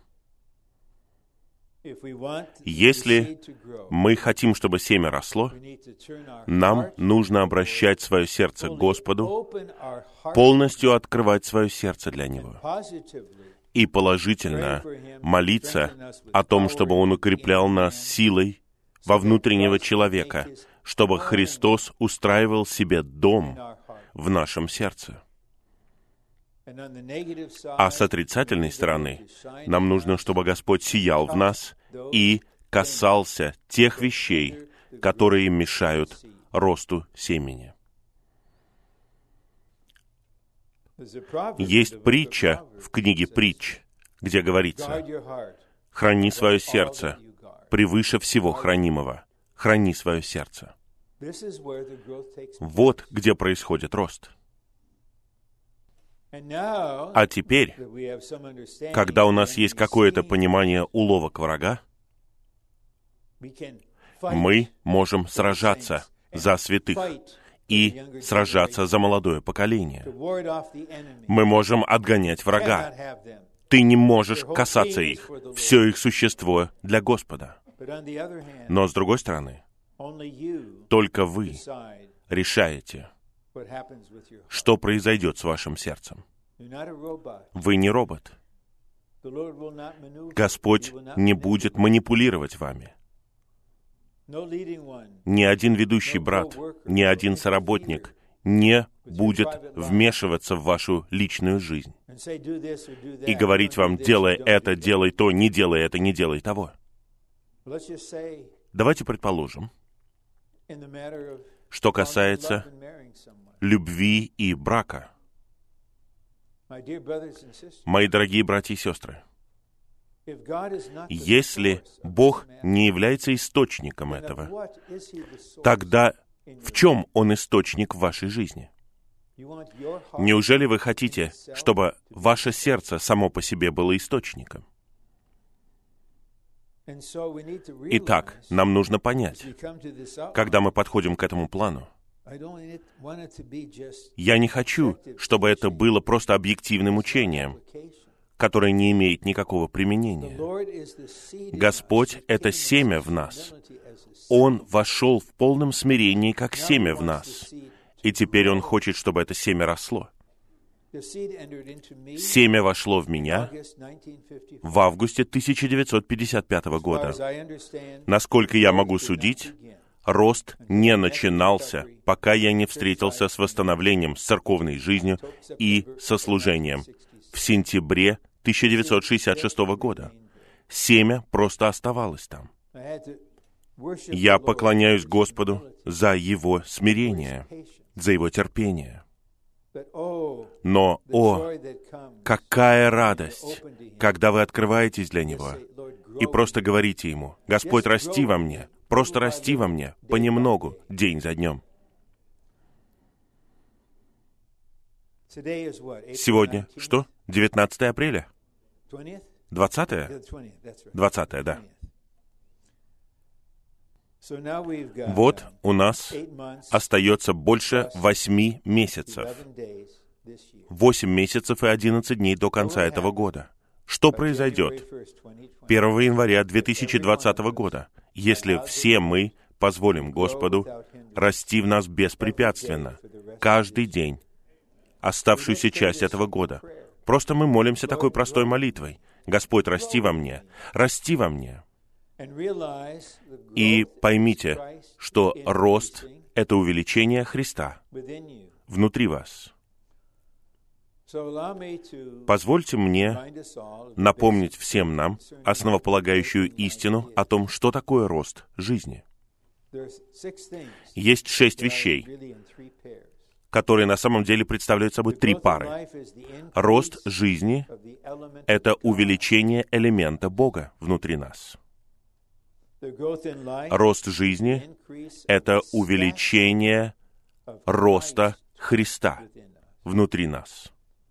Если мы хотим, чтобы семя росло, нам нужно обращать свое сердце к Господу, полностью открывать свое сердце для Него и положительно молиться о том, чтобы Он укреплял нас силой во внутреннего человека, чтобы Христос устраивал себе дом в нашем сердце. А с отрицательной стороны нам нужно, чтобы Господь сиял в нас и касался тех вещей, которые мешают росту семени. Есть притча в книге «Притч», где говорится: «Храни свое сердце превыше всего хранимого. Храни свое сердце». Вот где происходит рост. А теперь, когда у нас есть какое-то понимание уловок врага, мы можем сражаться за святых и сражаться за молодое поколение. Мы можем отгонять врага. Ты не можешь касаться их. Все их существо для Господа. Но, с другой стороны, Только вы решаете, что произойдет с вашим сердцем. Вы не робот. Господь не будет манипулировать вами. Ни один ведущий брат, ни один соработник не будет вмешиваться в вашу личную жизнь и говорить вам: делай это, делай то, не делай это, не делай того. Давайте предположим, что касается любви и брака. Мои дорогие братья и сестры, если Бог не является источником этого, тогда в чем Он источник в вашей жизни? Неужели вы хотите, чтобы ваше сердце само по себе было источником? Итак, нам нужно понять, когда мы подходим к этому плану, я не хочу, чтобы это было просто объективным учением, которое не имеет никакого применения. Господь — это семя в нас. Он вошел в полном смирении, как семя в нас. И теперь Он хочет, чтобы это семя росло. Семя вошло в меня в августе 1955 года. Насколько я могу судить, рост не начинался, пока я не встретился с восстановлением, с церковной жизнью и со служением в сентябре 1966 года. Семя просто оставалось там. Я поклоняюсь Господу за Его смирение, за Его терпение. Но, какая радость, когда вы открываетесь для Него и просто говорите Ему: «Господь, расти во мне, просто расти во мне, понемногу, день за днем». Сегодня что? 19 апреля? 20-е? 20-е, да. Вот у нас остается больше 8 месяцев. 8 месяцев и 11 дней до конца этого года. Что произойдет 1 января 2020 года, если все мы позволим Господу расти в нас беспрепятственно, каждый день, оставшуюся часть этого года? Просто мы молимся такой простой молитвой: «Господь, расти во мне, расти во мне». И поймите, что рост — это увеличение Христа внутри вас. Позвольте мне напомнить всем нам основополагающую истину о том, что такое рост жизни. Есть 6 вещей, которые на самом деле представляют собой 3 пары. Рост жизни — это увеличение элемента Бога внутри нас. Рост жизни — это увеличение роста Христа внутри нас.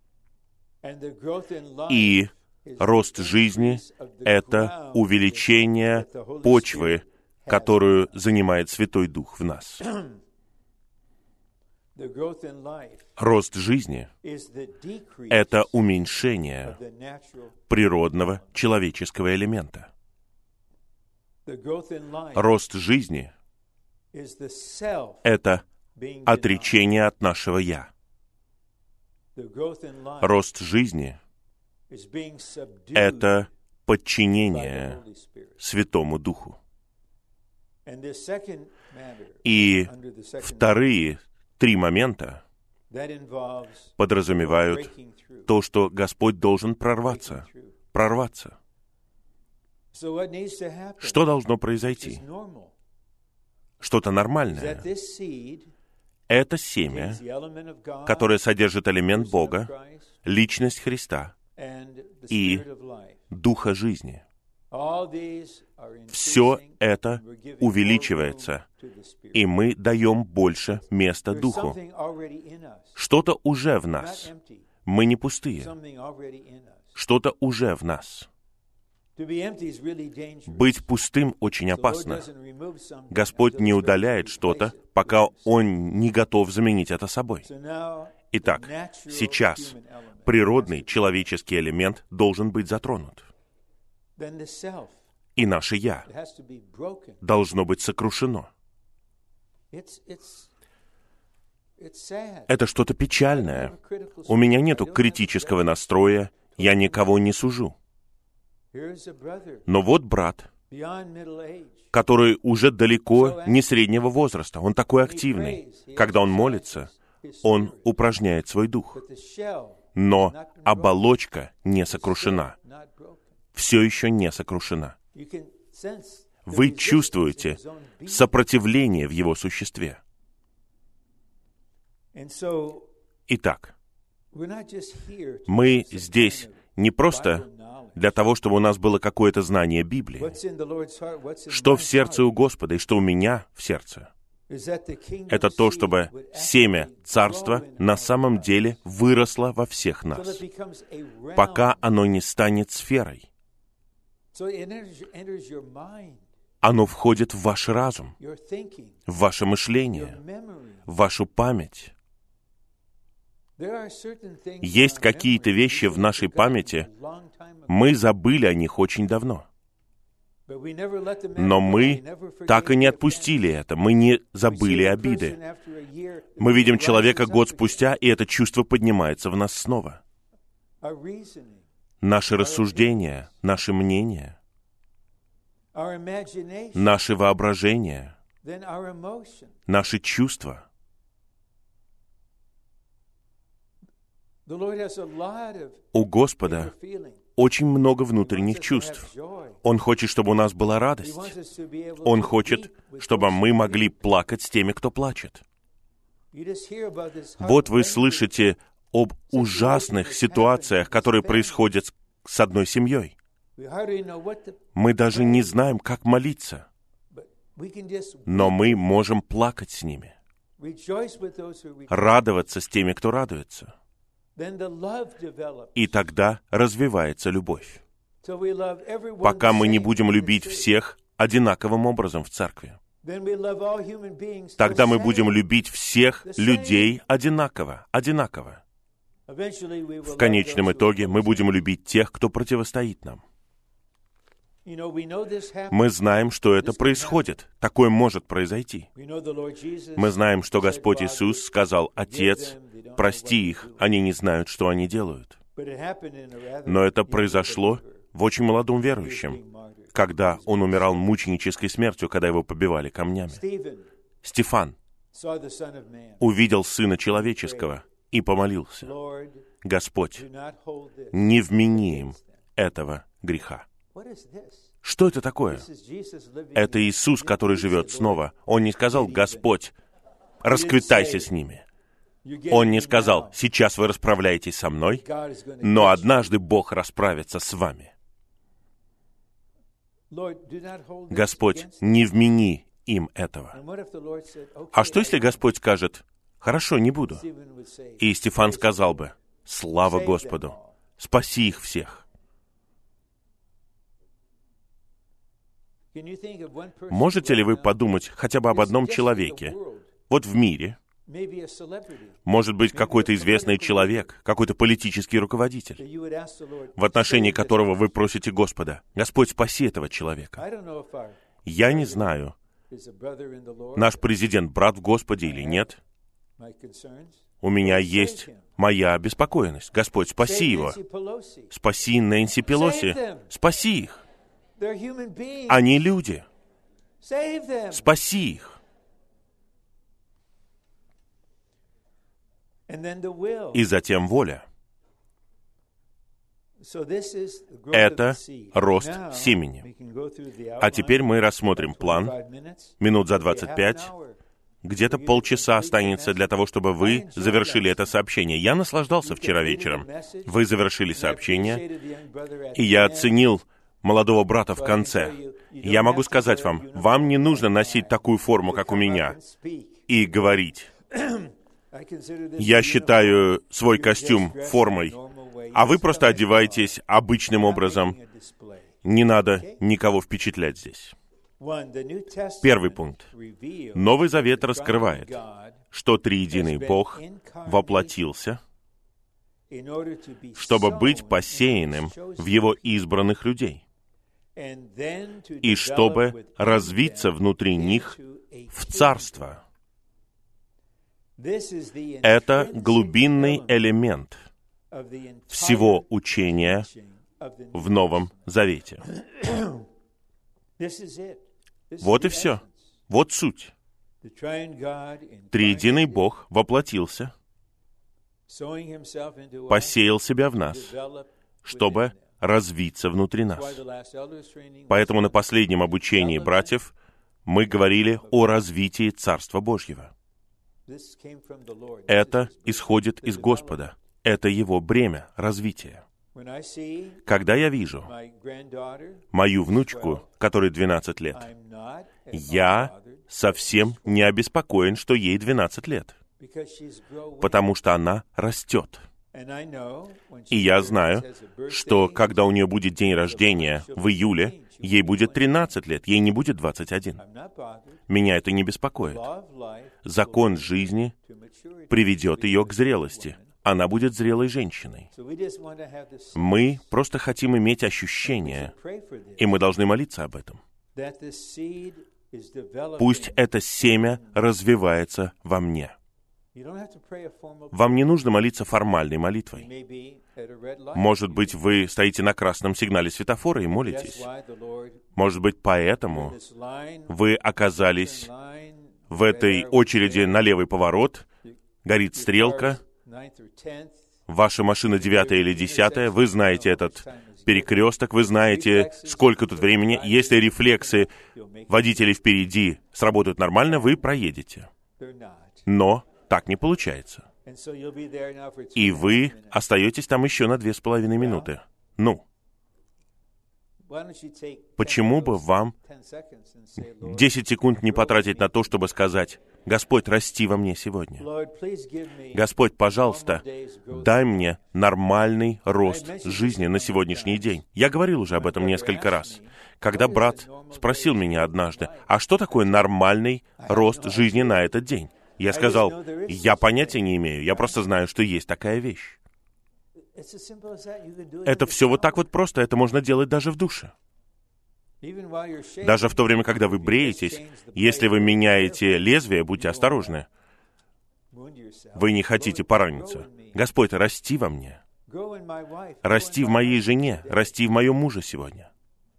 И рост жизни — это увеличение почвы, которую занимает Святой Дух в нас. Рост жизни — это уменьшение природного человеческого элемента. Рост жизни — это отречение от нашего «я». Рост жизни — это подчинение Святому Духу. И вторые 3 момента подразумевают то, что Господь должен прорваться. Что должно произойти? Что-то нормальное. Это семя, которое содержит элемент Бога, личность Христа и Духа жизни. Все это увеличивается, и мы даем больше места Духу. Что-то уже в нас. Мы не пустые. Что-то уже в нас. Быть пустым очень опасно. Господь не удаляет что-то, пока Он не готов заменить это собой. Итак, сейчас природный человеческий элемент должен быть затронут. И наше «я» должно быть сокрушено. Это что-то печальное. У меня нету критического настроя, я никого не сужу. Но вот брат, который уже далеко не среднего возраста, он такой активный. Когда он молится, он упражняет свой дух. Но оболочка не сокрушена. Все еще не сокрушена. Вы чувствуете сопротивление в его существе. Итак, мы здесь не просто для того, чтобы у нас было какое-то знание Библии. Что в сердце у Господа и что у меня в сердце? Это то, чтобы семя Царства на самом деле выросло во всех нас, пока оно не станет сферой. Оно входит в ваш разум, в ваше мышление, в вашу память. Есть какие-то вещи в нашей памяти, мы забыли о них очень давно. Но мы так и не отпустили это, мы не забыли обиды. Мы видим человека год спустя, и это чувство поднимается в нас снова. Наши рассуждения, наши мнения, наше воображение, наши чувства. У Господа очень много внутренних чувств. Он хочет, чтобы у нас была радость. Он хочет, чтобы мы могли плакать с теми, кто плачет. Вот вы слышите об ужасных ситуациях, которые происходят с одной семьей. Мы даже не знаем, как молиться, но мы можем плакать с ними, радоваться с теми, кто радуется. И тогда развивается любовь. Пока мы не будем любить всех одинаковым образом в церкви. Тогда мы будем любить всех людей одинаково. В конечном итоге мы будем любить тех, кто противостоит нам. Мы знаем, что это происходит. Такое может произойти. Мы знаем, что Господь Иисус сказал: «Отец, прости их, они не знают, что они делают». Но это произошло в очень молодом верующем, когда он умирал мученической смертью, когда его побивали камнями. Стефан увидел Сына Человеческого и помолился: «Господь, не вмени им этого греха». Что это такое? Это Иисус, который живет снова. Он не сказал: «Господь, расквитайся с ними». Он не сказал: «Сейчас вы расправляетесь со мной, но однажды Бог расправится с вами». Господь, не вмени им этого. А что, если Господь скажет: «Хорошо, не буду»? И Стефан сказал бы: «Слава Господу! Спаси их всех». Можете ли вы подумать хотя бы об одном человеке, вот в мире, может быть, какой-то известный человек, какой-то политический руководитель, в отношении которого вы просите Господа: «Господь, спаси этого человека». Я не знаю, наш президент брат в Господе или нет. У меня есть моя обеспокоенность. Господь, спаси его. Спаси Нэнси Пелоси. Спаси их. Они люди. Спаси их. И затем воля. Это рост семени. А теперь мы рассмотрим план. Минут за 25. Где-то полчаса останется для того, чтобы вы завершили это сообщение. Я наслаждался вчера вечером. Вы завершили сообщение, и я оценил молодого брата в конце. Я могу сказать вам, вам не нужно носить такую форму, как у меня, и говорить: «Я считаю свой костюм формой», а вы просто одеваетесь обычным образом. Не надо никого впечатлять здесь. Первый пункт. Новый Завет раскрывает, что триединый Бог воплотился, чтобы быть посеянным в Его избранных людей, и чтобы развиться внутри них в царство. Это глубинный элемент всего учения в Новом Завете. Вот и все. Вот суть. Триединый Бог воплотился, посеял себя в нас, чтобы развиться внутри нас. Поэтому на последнем обучении братьев мы говорили о развитии Царства Божьего. Это исходит из Господа. Это Его бремя развития. Когда я вижу мою внучку, которой 12 лет, я совсем не обеспокоен, что ей 12 лет, потому что она растет. И я знаю, что когда у нее будет день рождения в июле, ей будет 13 лет, ей не будет 21. Меня это не беспокоит. Закон жизни приведет ее к зрелости. Она будет зрелой женщиной. Мы просто хотим иметь ощущение, и мы должны молиться об этом. Пусть это семя развивается во мне. Вам не нужно молиться формальной молитвой. Может быть, вы стоите на красном сигнале светофора и молитесь. Может быть, поэтому вы оказались в этой очереди на левый поворот, горит стрелка, ваша машина 9 или 10, вы знаете этот перекресток, вы знаете, сколько тут времени. Если рефлексы водителей впереди сработают нормально, вы проедете. Но так не получается. И вы остаетесь там еще на 2,5 минуты. Ну, почему бы вам 10 секунд не потратить на то, чтобы сказать: «Господь, расти во мне сегодня. Господь, пожалуйста, дай мне нормальный рост жизни на сегодняшний день». Я говорил уже об этом несколько раз. Когда брат спросил меня однажды: «А что такое нормальный рост жизни на этот день?» Я сказал: «Я понятия не имею, я просто знаю, что есть такая вещь». Это все вот так вот просто, это можно делать даже в душе. Даже в то время, когда вы бреетесь, если вы меняете лезвие, будьте осторожны. Вы не хотите пораниться. Господь, расти во мне. Расти в моей жене, расти в моем муже сегодня.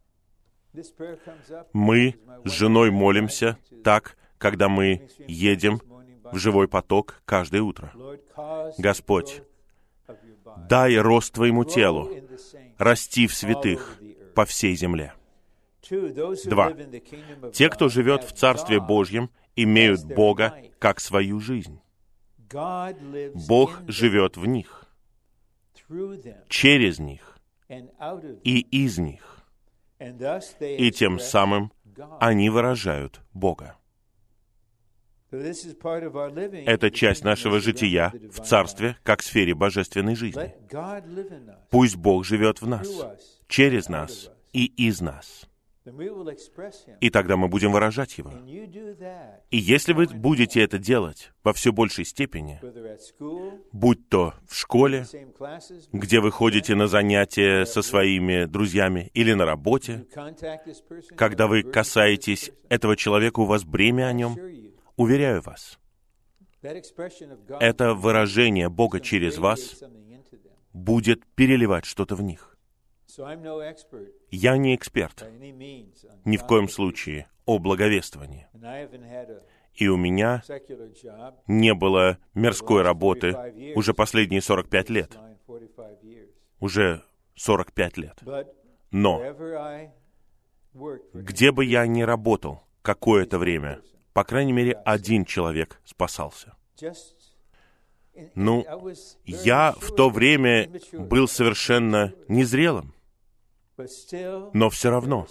Мы с женой молимся так, когда мы едем в живой поток каждое утро. Господь, дай рост Твоему телу, расти в святых по всей земле. 2. Те, кто живет в Царстве Божьем, имеют Бога как свою жизнь. Бог живет в них, через них и из них. И тем самым они выражают Бога. Это часть нашего жития в Царстве, как в сфере божественной жизни. Пусть Бог живет в нас, через нас и из нас. И тогда мы будем выражать Его. И если вы будете это делать во все большей степени, будь то в школе, где вы ходите на занятия со своими друзьями, или на работе, когда вы касаетесь этого человека, у вас бремя о нем, уверяю вас, это выражение Бога через вас будет переливать что-то в них. Я не эксперт, ни в коем случае, о благовествовании. И у меня не было мирской работы уже последние 45 лет. Уже 45 лет. Но где бы я ни работал какое-то время, по крайней мере, один человек спасался. Ну, я в то время был совершенно незрелым, но все равно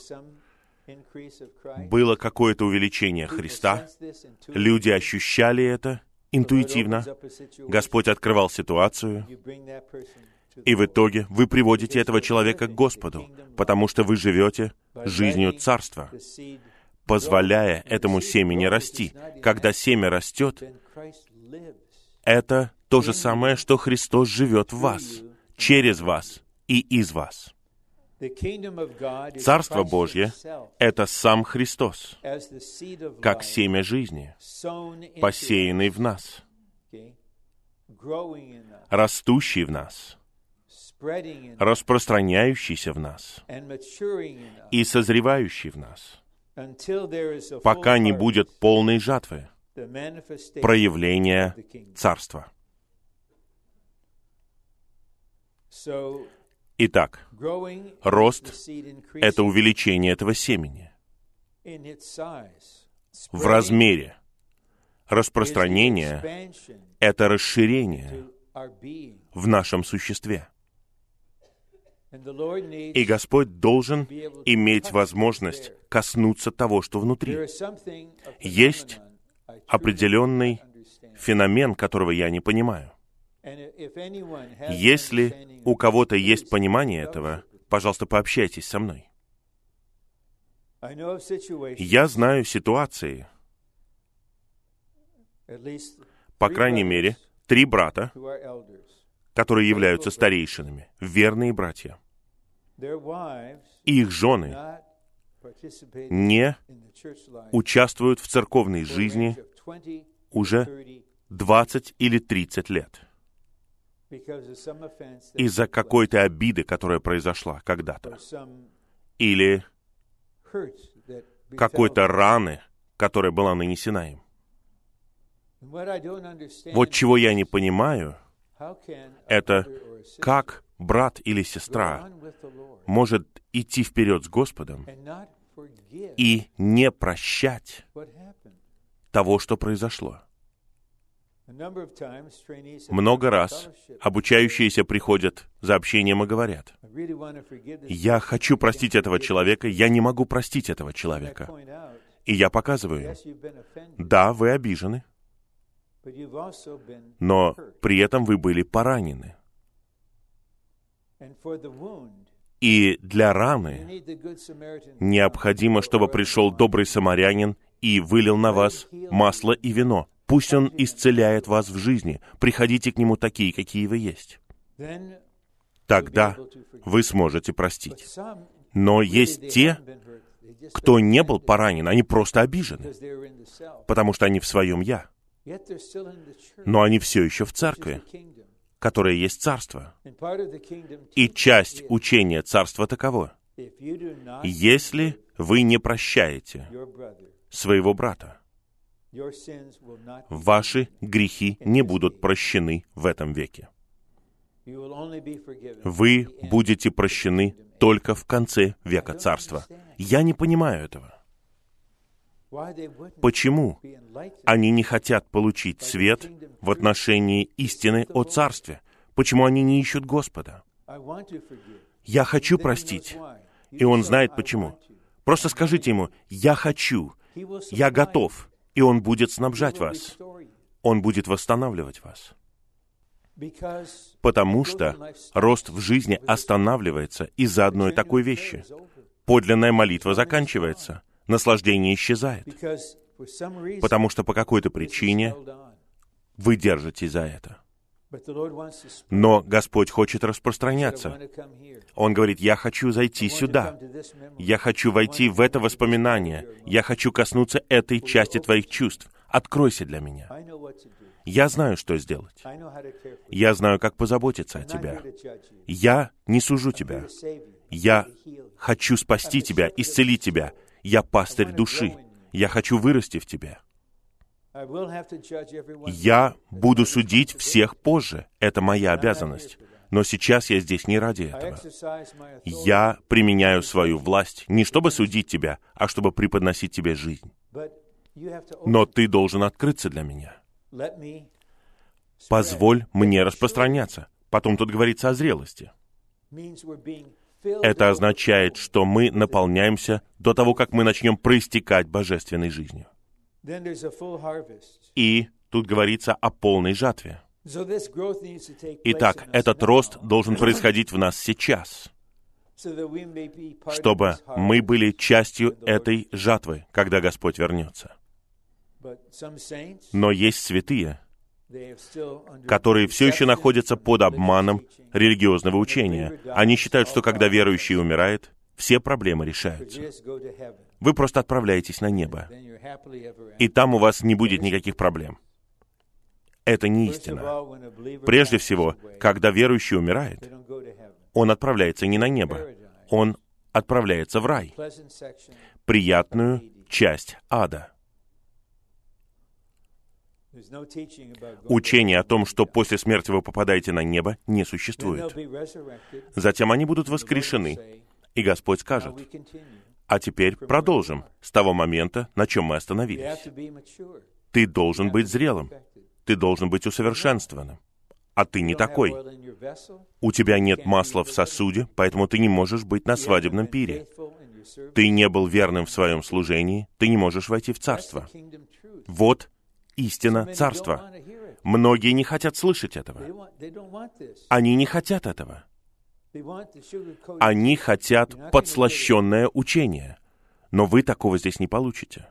было какое-то увеличение Христа. Люди ощущали это интуитивно. Господь открывал ситуацию, и в итоге вы приводите этого человека к Господу, потому что вы живете жизнью Царства, позволяя этому семени расти. Когда семя растет, это то же самое, что Христос живет в вас, через вас и из вас. Царство Божье — это сам Христос, как семя жизни, посеянный в нас. растущий в нас, распространяющийся в нас и созревающий в нас, пока не будет полной жатвы, проявления Царства. Итак, рост — это увеличение этого семени в размере. Распространение — это расширение в нашем существе. И Господь должен иметь возможность коснуться того, что внутри. Есть определенный феномен, которого я не понимаю. Если у кого-то есть понимание этого, пожалуйста, пообщайтесь со мной. Я знаю ситуации, по крайней мере, 3 брата, которые являются старейшинами, верные братья. Их жены не участвуют в церковной жизни уже 20 или 30 лет из-за какой-то обиды, которая произошла когда-то, или какой-то раны, которая была нанесена им. Вот чего я не понимаю, это как брат или сестра может идти вперед с Господом и не прощать того, что произошло. Много раз обучающиеся приходят за общением и говорят: «Я хочу простить этого человека, я не могу простить этого человека». И я показываю им: да, вы обижены, но при этом вы были поранены. И для раны необходимо, чтобы пришел добрый самарянин и вылил на вас масло и вино. Пусть он исцеляет вас в жизни. Приходите к нему такие, какие вы есть. Тогда вы сможете простить. Но есть те, кто не был поранен, они просто обижены, потому что они в своем «я». Но они все еще в церкви, которая есть царство. И часть учения царства таково: если вы не прощаете своего брата, ваши грехи не будут прощены в этом веке. Вы будете прощены только в конце века царства. Я не понимаю этого. Почему они не хотят получить свет в отношении истины о Царстве? Почему они не ищут Господа? Я хочу простить. И Он знает почему. Просто скажите Ему: я хочу, я готов. И Он будет снабжать вас. Он будет восстанавливать вас. Потому что рост в жизни останавливается из-за одной такой вещи. Подлинная молитва заканчивается. Наслаждение исчезает. Потому что по какой-то причине вы держитесь за это. Но Господь хочет распространяться. Он говорит: я хочу зайти сюда. Я хочу войти в это воспоминание. Я хочу коснуться этой части твоих чувств. Откройся для меня. Я знаю, что сделать. Я знаю, как позаботиться о тебе. Я не сужу тебя. Я хочу спасти тебя, исцелить тебя. Я пастырь души. Я хочу вырасти в тебе. Я буду судить всех позже. Это моя обязанность. Но сейчас я здесь не ради этого. Я применяю свою власть не чтобы судить тебя, а чтобы преподносить тебе жизнь. Но ты должен открыться для меня. Позволь мне распространяться. Потом тут говорится о зрелости. Это означает, что мы наполняемся до того, как мы начнем проистекать божественной жизнью. И тут говорится о полной жатве. Итак, этот рост должен происходить в нас сейчас, чтобы мы были частью этой жатвы, когда Господь вернется. Но есть святые, которые все еще находятся под обманом религиозного учения. Они считают, что когда верующий умирает, все проблемы решаются. Вы просто отправляетесь на небо, и там у вас не будет никаких проблем. Это не истина. Прежде всего, когда верующий умирает, он отправляется не на небо, он отправляется в рай, приятную часть ада. Учение о том, что после смерти вы попадаете на небо, не существует. Затем они будут воскрешены, и Господь скажет: а теперь продолжим с того момента, на чем мы остановились. Ты должен быть зрелым, ты должен быть усовершенствованным, а ты не такой. У тебя нет масла в сосуде, поэтому ты не можешь быть на свадебном пире. Ты не был верным в своем служении, ты не можешь войти в царство. Вот истина царства. Многие не хотят слышать этого. Они не хотят этого. Они хотят подслащенное учение. Но вы такого здесь не получите.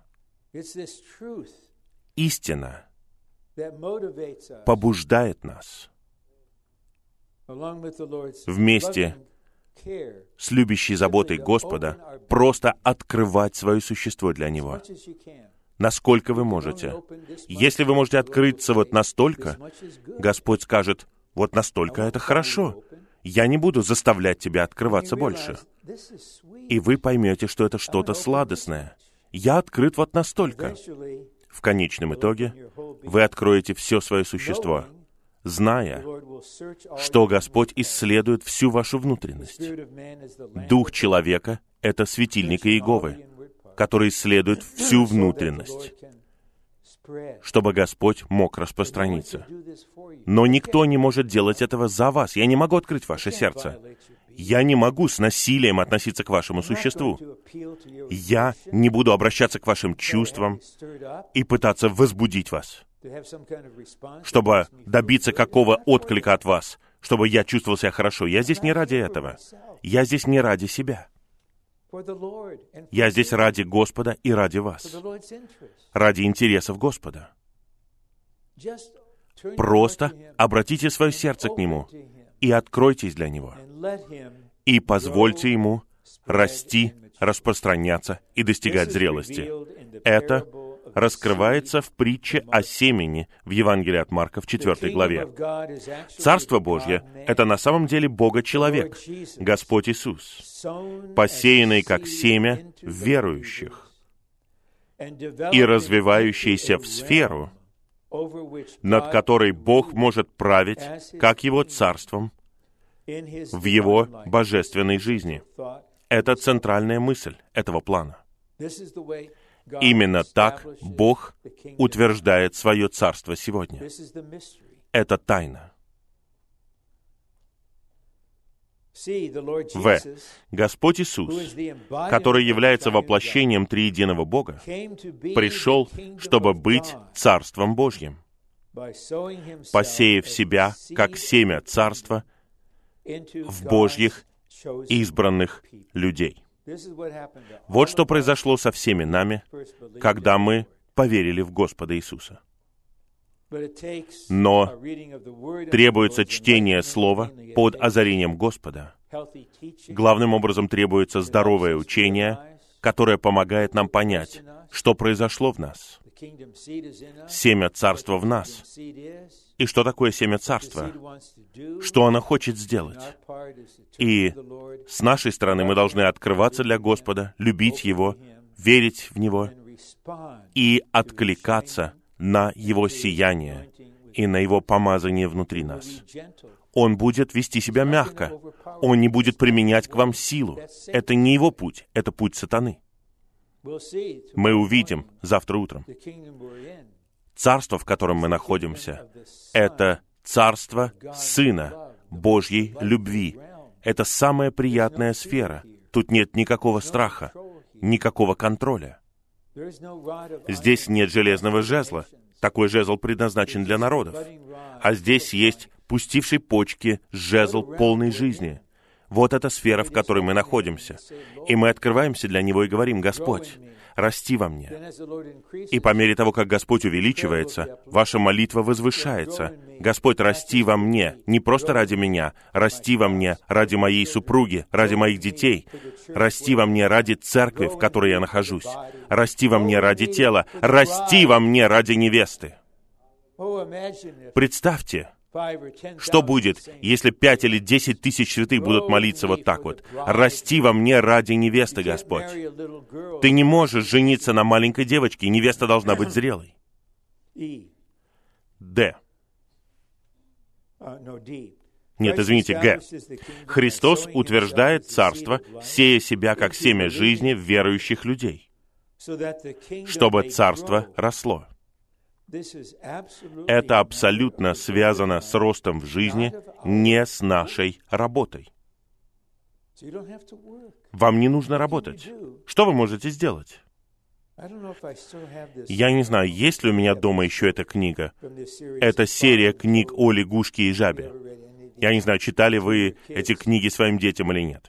Истина побуждает нас вместе с любящей заботой Господа просто открывать свое существо для Него. Насколько вы можете. Если вы можете открыться вот настолько, Господь скажет: вот настолько это хорошо. Я не буду заставлять тебя открываться больше. И вы поймете, что это что-то сладостное. Я открыт вот настолько. В конечном итоге вы откроете все свое существо, зная, что Господь исследует всю вашу внутренность. Дух человека — это светильник Иеговы, который исследует всю внутренность, чтобы Господь мог распространиться. Но никто не может делать этого за вас. Я не могу открыть ваше сердце. Я не могу с насилием относиться к вашему существу. Я не буду обращаться к вашим чувствам и пытаться возбудить вас, чтобы добиться какого отклика от вас, чтобы я чувствовал себя хорошо. Я здесь не ради этого. Я здесь не ради себя. Я здесь ради Господа и ради вас. Ради интересов Господа. Просто обратите свое сердце к Нему и откройтесь для Него. И позвольте Ему расти, распространяться и достигать зрелости. Это раскрывается в притче о семени в Евангелии от Марка в 4 главе. Царство Божье — это на самом деле Бога-человек, Господь Иисус, посеянный как семя в верующих и развивающийся в сферу, над которой Бог может править как Его царством в Его божественной жизни. Это центральная мысль этого плана. Именно так Бог утверждает свое царство сегодня. Это тайна. В. Господь Иисус, который является воплощением триединого Бога, пришел, чтобы быть Царством Божьим, посеяв себя, как семя Царства, в Божьих избранных людей. Вот что произошло со всеми нами, когда мы поверили в Господа Иисуса. Но требуется чтение Слова под озарением Господа. Главным образом требуется здоровое учение, которое помогает нам понять, что произошло в нас. Семя Царства в нас. И что такое семя Царства? Что оно хочет сделать? И с нашей стороны мы должны открываться для Господа, любить Его, верить в Него и откликаться на Его сияние и на Его помазание внутри нас. Он будет вести себя мягко. Он не будет применять к вам силу. Это не Его путь, это путь сатаны. Мы увидим завтра утром. Царство, в котором мы находимся, это царство Сына Божьей любви. Это самая приятная сфера. Тут нет никакого страха, никакого контроля. Здесь нет железного жезла. Такой жезл предназначен для народов. А здесь есть пустивший почки жезл полной жизни. Вот эта сфера, в которой мы находимся. И мы открываемся для Него и говорим: «Господь, расти во мне». И по мере того, как Господь увеличивается, ваша молитва возвышается. «Господь, расти во мне, не просто ради меня, расти во мне ради моей супруги, ради моих детей, расти во мне ради церкви, в которой я нахожусь, расти во мне ради тела, расти во мне ради невесты». Представьте, что будет, если 5 или 10 тысяч святых будут молиться вот так вот. «Расти во мне ради невесты, Господь». Ты не можешь жениться на маленькой девочке, невеста должна быть зрелой. Д. Нет, извините, Г. Христос утверждает царство, сея себя как семя жизни в верующих людей, чтобы царство росло. Это абсолютно связано с ростом в жизни, не с нашей работой. Вам не нужно работать. Что вы можете сделать? Я не знаю, есть ли у меня дома еще эта книга. Это серия книг о лягушке и жабе. Я не знаю, читали вы эти книги своим детям или нет.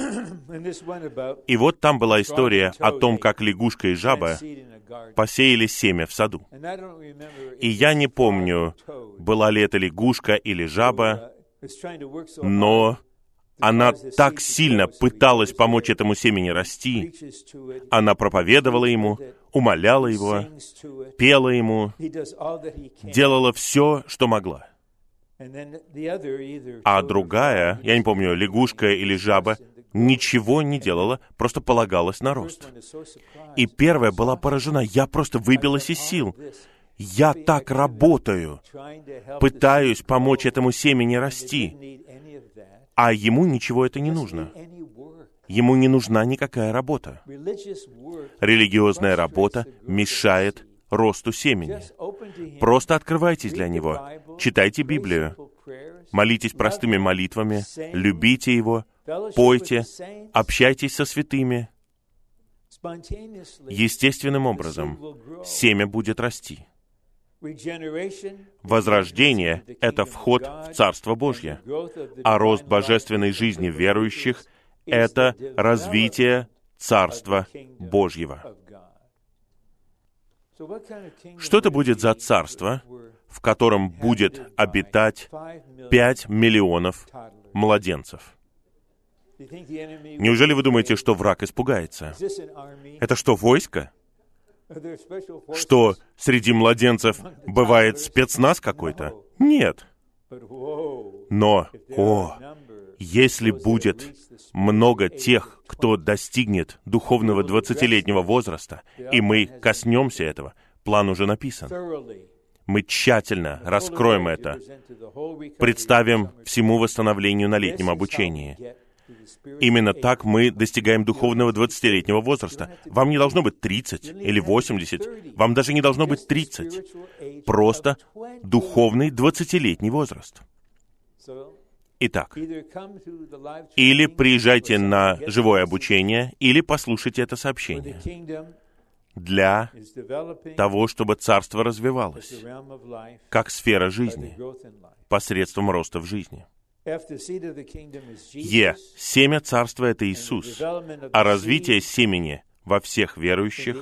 И вот там была история о том, как лягушка и жаба посеяли семя в саду. И я не помню, была ли это лягушка или жаба, но она так сильно пыталась помочь этому семени расти. Она проповедовала ему, умоляла его, пела ему, делала все, что могла. А другая, я не помню, лягушка или жаба, ничего не делала, просто полагалась на рост. И первая была поражена. Я просто выбилась из сил. Я так работаю, пытаюсь помочь этому семени расти, а ему ничего это не нужно. Ему не нужна никакая работа. Религиозная работа мешает росту семени. Просто открывайтесь для него, читайте Библию, молитесь простыми молитвами, любите его, пойте, общайтесь со святыми. Естественным образом семя будет расти. Возрождение — это вход в Царство Божье, а рост божественной жизни верующих — это развитие Царства Божьего. Что это будет за царство, в котором будет обитать 5 миллионов младенцев? Неужели вы думаете, что враг испугается? Это что, войско? Что среди младенцев бывает спецназ какой-то? Нет. Но, если будет много тех, кто достигнет духовного 20-летнего возраста, и мы коснемся этого, план уже написан. Мы тщательно раскроем это, представим всему восстановлению на летнем обучении. Именно так мы достигаем духовного 20-летнего возраста. Вам не должно быть 30 или 80, вам даже не должно быть 30. Просто духовный 20-летний возраст. Итак, или приезжайте на живое обучение, или послушайте это сообщение для того, чтобы царство развивалось, как сфера жизни, посредством роста в жизни. Семя царства — это Иисус, а развитие семени во всех верующих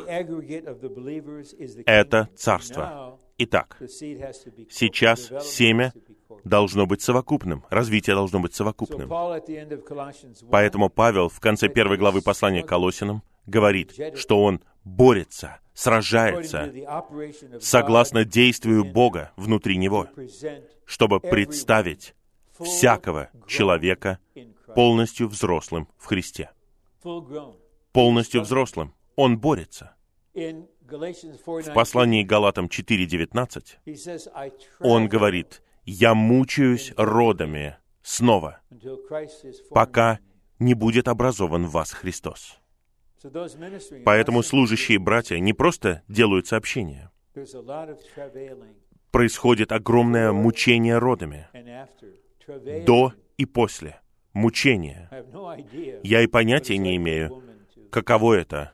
— это царство. Итак, сейчас семя должно быть совокупным, развитие должно быть совокупным. Поэтому Павел в конце 1 главы послания к Колоссянам говорит, что он борется, сражается согласно действию Бога внутри него, чтобы представить всякого человека полностью взрослым в Христе. Полностью взрослым. Он борется. В послании к Галатам 4:19 он говорит: «Я мучаюсь родами снова, пока не будет образован в вас Христос». Поэтому служащие братья не просто делают сообщения. Происходит огромное мучение родами. До и после. Мучения. Я и понятия не имею, каково это,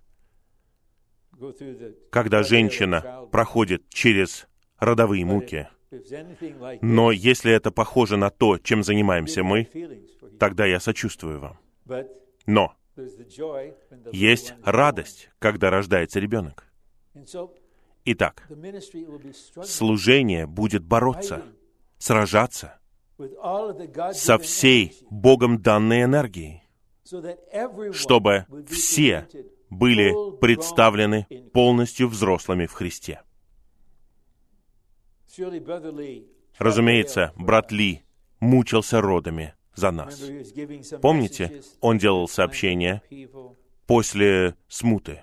когда женщина проходит через родовые муки. Но если это похоже на то, чем занимаемся мы, тогда я сочувствую вам. Но есть радость, когда рождается ребенок. Итак, служение будет бороться, сражаться со всей Богом данной энергией, чтобы все были представлены полностью взрослыми в Христе. Разумеется, брат Ли мучился родами за нас. Помните, он делал сообщения после смуты,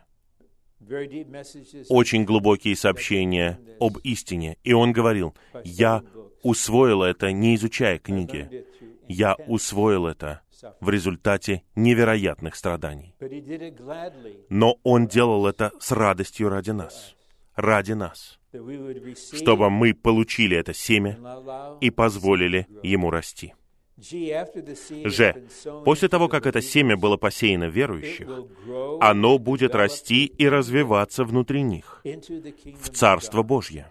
очень глубокие сообщения об истине. И он говорил: «Я усвоил это, не изучая книги. Я усвоил это в результате невероятных страданий». Но он делал это с радостью ради нас. Ради нас. Чтобы мы получили это семя и позволили ему расти. После того, как это семя было посеяно в верующих, оно будет расти и развиваться внутри них в Царство Божье,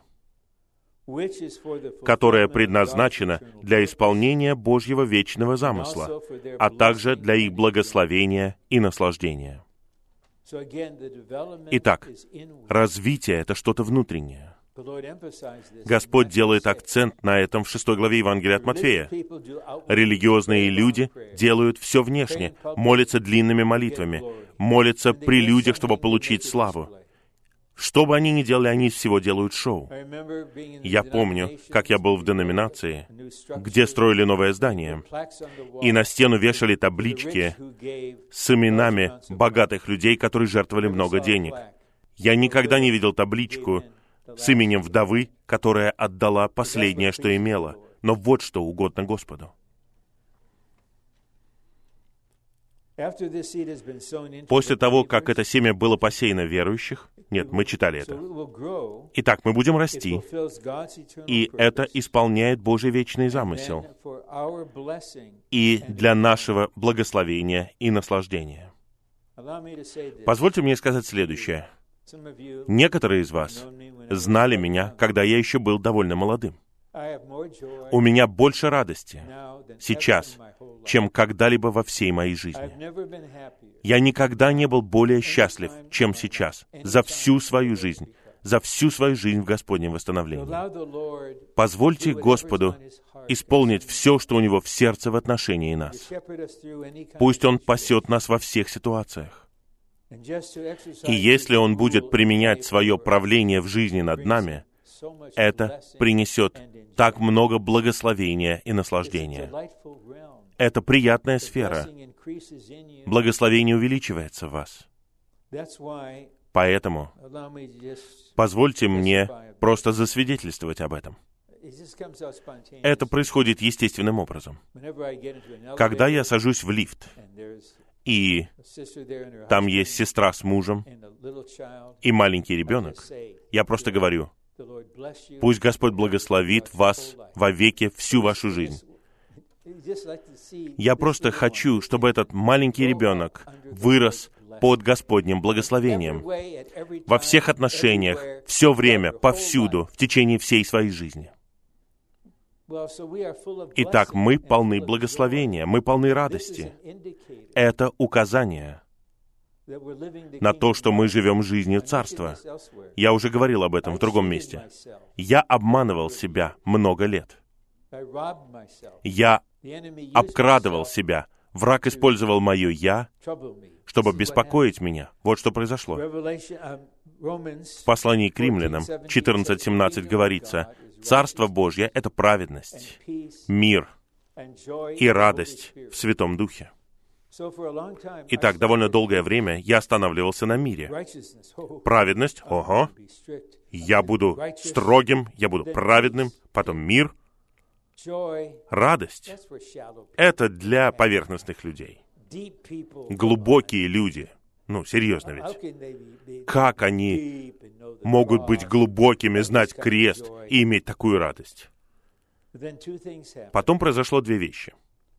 которое предназначено для исполнения Божьего вечного замысла, а также для их благословения и наслаждения. Итак, развитие — это что-то внутреннее. Господь делает акцент на этом в 6 главе Евангелия от Матфея. Религиозные люди делают все внешне, молятся длинными молитвами, молятся при людях, чтобы получить славу. Что бы они ни делали, они из всего делают шоу. Я помню, как я был в деноминации, где строили новое здание, и на стену вешали таблички с именами богатых людей, которые жертвовали много денег. Я никогда не видел табличку с именем вдовы, которая отдала последнее, что имела. Но вот что угодно Господу. После того, как это семя было посеяно в верующих, нет, мы читали это. Итак, мы будем расти, и это исполняет Божий вечный замысел, и для нашего благословения и наслаждения. Позвольте мне сказать следующее. Некоторые из вас знали меня, когда я еще был довольно молодым. У меня больше радости сейчас, чем когда-либо во всей моей жизни. Я никогда не был более счастлив, чем сейчас, за всю свою жизнь в Господнем восстановлении. Позвольте Господу исполнить все, что у Него в сердце в отношении нас. Пусть Он пасет нас во всех ситуациях. И если Он будет применять свое правление в жизни над нами, это принесет так много благословения и наслаждения. Это приятная сфера. Благословение увеличивается в вас. Поэтому позвольте мне просто засвидетельствовать об этом. Это происходит естественным образом. Когда я сажусь в лифт, и там есть сестра с мужем и маленький ребенок, я просто говорю: пусть Господь благословит вас вовеки всю вашу жизнь. Я просто хочу, чтобы этот маленький ребенок вырос под Господним благословением во всех отношениях, все время, повсюду, в течение всей своей жизни. Итак, мы полны благословения, мы полны радости. Это указание на то, что мы живем жизнью Царства. Я уже говорил об этом в другом месте. Я обманывал себя много лет. Я обкрадывал себя. Враг использовал мое «я», чтобы беспокоить меня. Вот что произошло. В послании к Римлянам 14:17 говорится: «Царство Божье — это праведность, мир и радость в Святом Духе». Итак, довольно долгое время я останавливался на мире. Праведность, ого, я буду строгим, я буду праведным, потом мир. Радость — это для поверхностных людей. Глубокие люди, серьезно ведь, как они могут быть глубокими, знать крест и иметь такую радость? Потом произошло две вещи.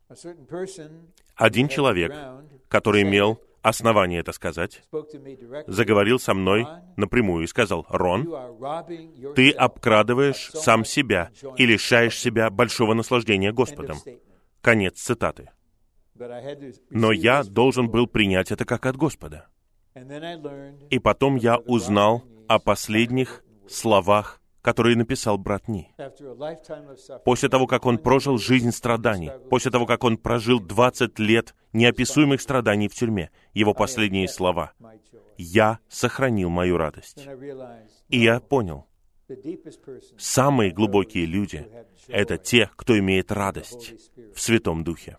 Один человек, который имел основание это сказать, заговорил со мной напрямую и сказал: «Рон, ты обкрадываешь сам себя и лишаешь себя большого наслаждения Господом». Конец цитаты. Но я должен был принять это как от Господа. И потом я узнал о последних словах, которые написал брат Ни. После того, как он прожил жизнь страданий, после того, как он прожил 20 лет неописуемых страданий в тюрьме, его последние слова: «Я сохранил мою радость». И я понял: Самые глубокие люди — это те, кто имеет радость в Святом Духе.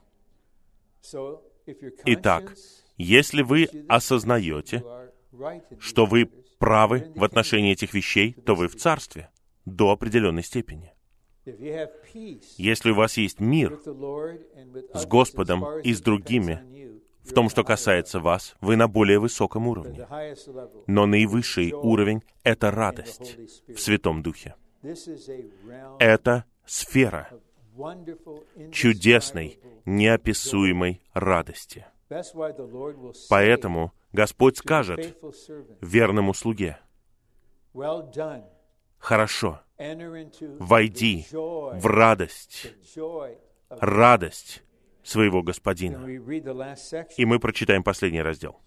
Итак, если вы осознаете, что вы правы в отношении этих вещей, то вы в Царстве до определенной степени. Если у вас есть мир с Господом и с другими, в том, что касается вас, вы на более высоком уровне. Но наивысший уровень — это радость в Святом Духе. Это сфера чудесной, неописуемой радости. Поэтому Господь скажет верному слуге: «Хорошо, войди в радость своего Господина». И мы прочитаем последний раздел.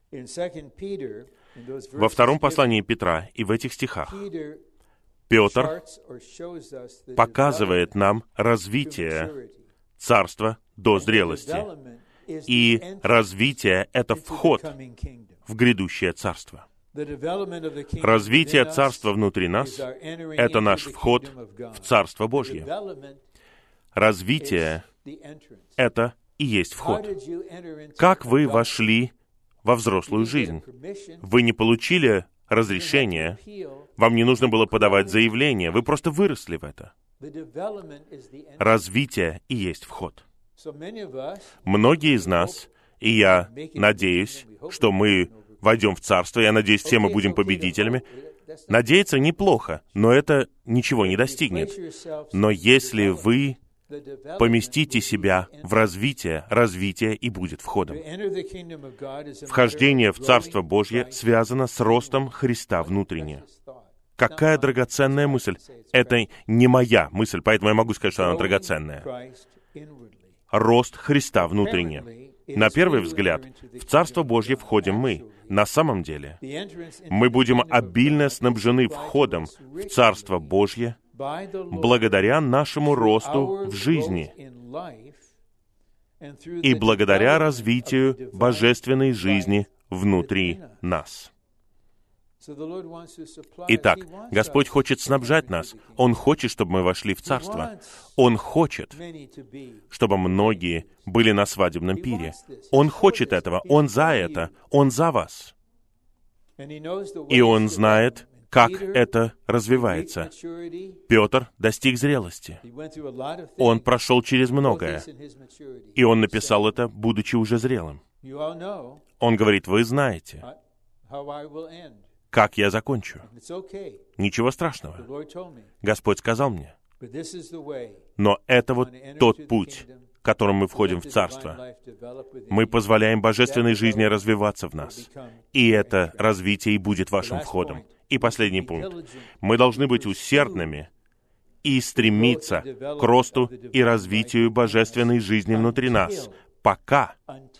Во втором послании Петра и в этих стихах Петр показывает нам развитие царства до зрелости. И развитие — это вход в грядущее царство. Развитие царства внутри нас — это наш вход в Царство Божье. Развитие — это и есть вход. Как вы вошли во взрослую жизнь? Вы не получили разрешение, вам не нужно было подавать заявление, вы просто выросли в это. Развитие и есть вход. Многие из нас, и я надеюсь, что мы войдем в Царство, я надеюсь, все мы будем победителями. Надеяться неплохо, но это ничего не достигнет. Но если вы поместите себя в развитие и будет входом. Вхождение в Царство Божье связано с ростом Христа внутренне. Какая драгоценная мысль! Это не моя мысль, поэтому я могу сказать, что она драгоценная. Рост Христа внутренне. На первый взгляд, в Царство Божье входим мы. На самом деле, мы будем обильно снабжены входом в Царство Божье благодаря нашему росту в жизни и благодаря развитию божественной жизни внутри нас. Итак, Господь хочет снабжать нас. Он хочет, чтобы мы вошли в Царство. Он хочет, чтобы многие были на свадебном пире. Он хочет этого. Он за это. Он за вас. И Он знает, как это развивается. Петр достиг зрелости. Он прошел через многое. И он написал это, будучи уже зрелым. Он говорит: вы знаете, как я закончу. Ничего страшного. Господь сказал мне. Но это вот тот путь, которым мы входим в Царство. Мы позволяем божественной жизни развиваться в нас. И это развитие и будет вашим входом. И последний пункт. Мы должны быть усердными и стремиться к росту и развитию божественной жизни внутри нас, пока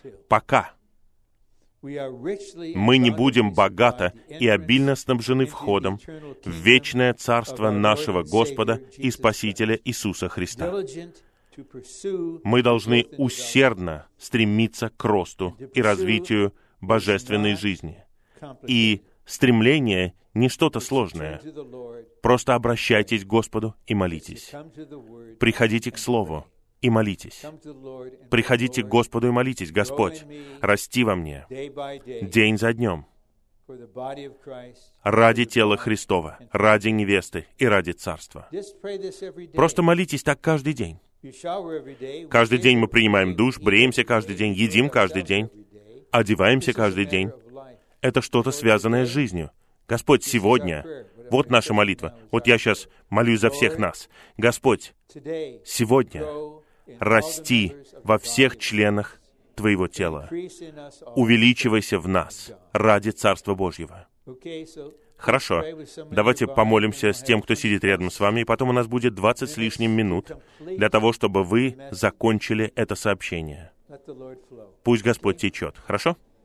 мы не будем богато и обильно снабжены входом в вечное царство нашего Господа и Спасителя Иисуса Христа. Мы должны усердно стремиться к росту и развитию божественной жизни. И стремление не что-то сложное. Просто обращайтесь к Господу и молитесь. Приходите к Слову и молитесь. Приходите к Господу и молитесь: Господь, расти во мне день за днем ради тела Христова, ради невесты и ради Царства. Просто молитесь так каждый день. Каждый день мы принимаем душ, бреемся каждый день, едим каждый день, одеваемся каждый день. Это что-то связанное с жизнью. Господь, сегодня, вот наша молитва. Вот я сейчас молюсь за всех нас. Господь, сегодня расти во всех членах Твоего тела. Увеличивайся в нас ради Царства Божьего. Хорошо. Давайте помолимся с тем, кто сидит рядом с вами, и потом у нас будет 20 с лишним минут для того, чтобы вы закончили это сообщение. Пусть Господь течет. Хорошо?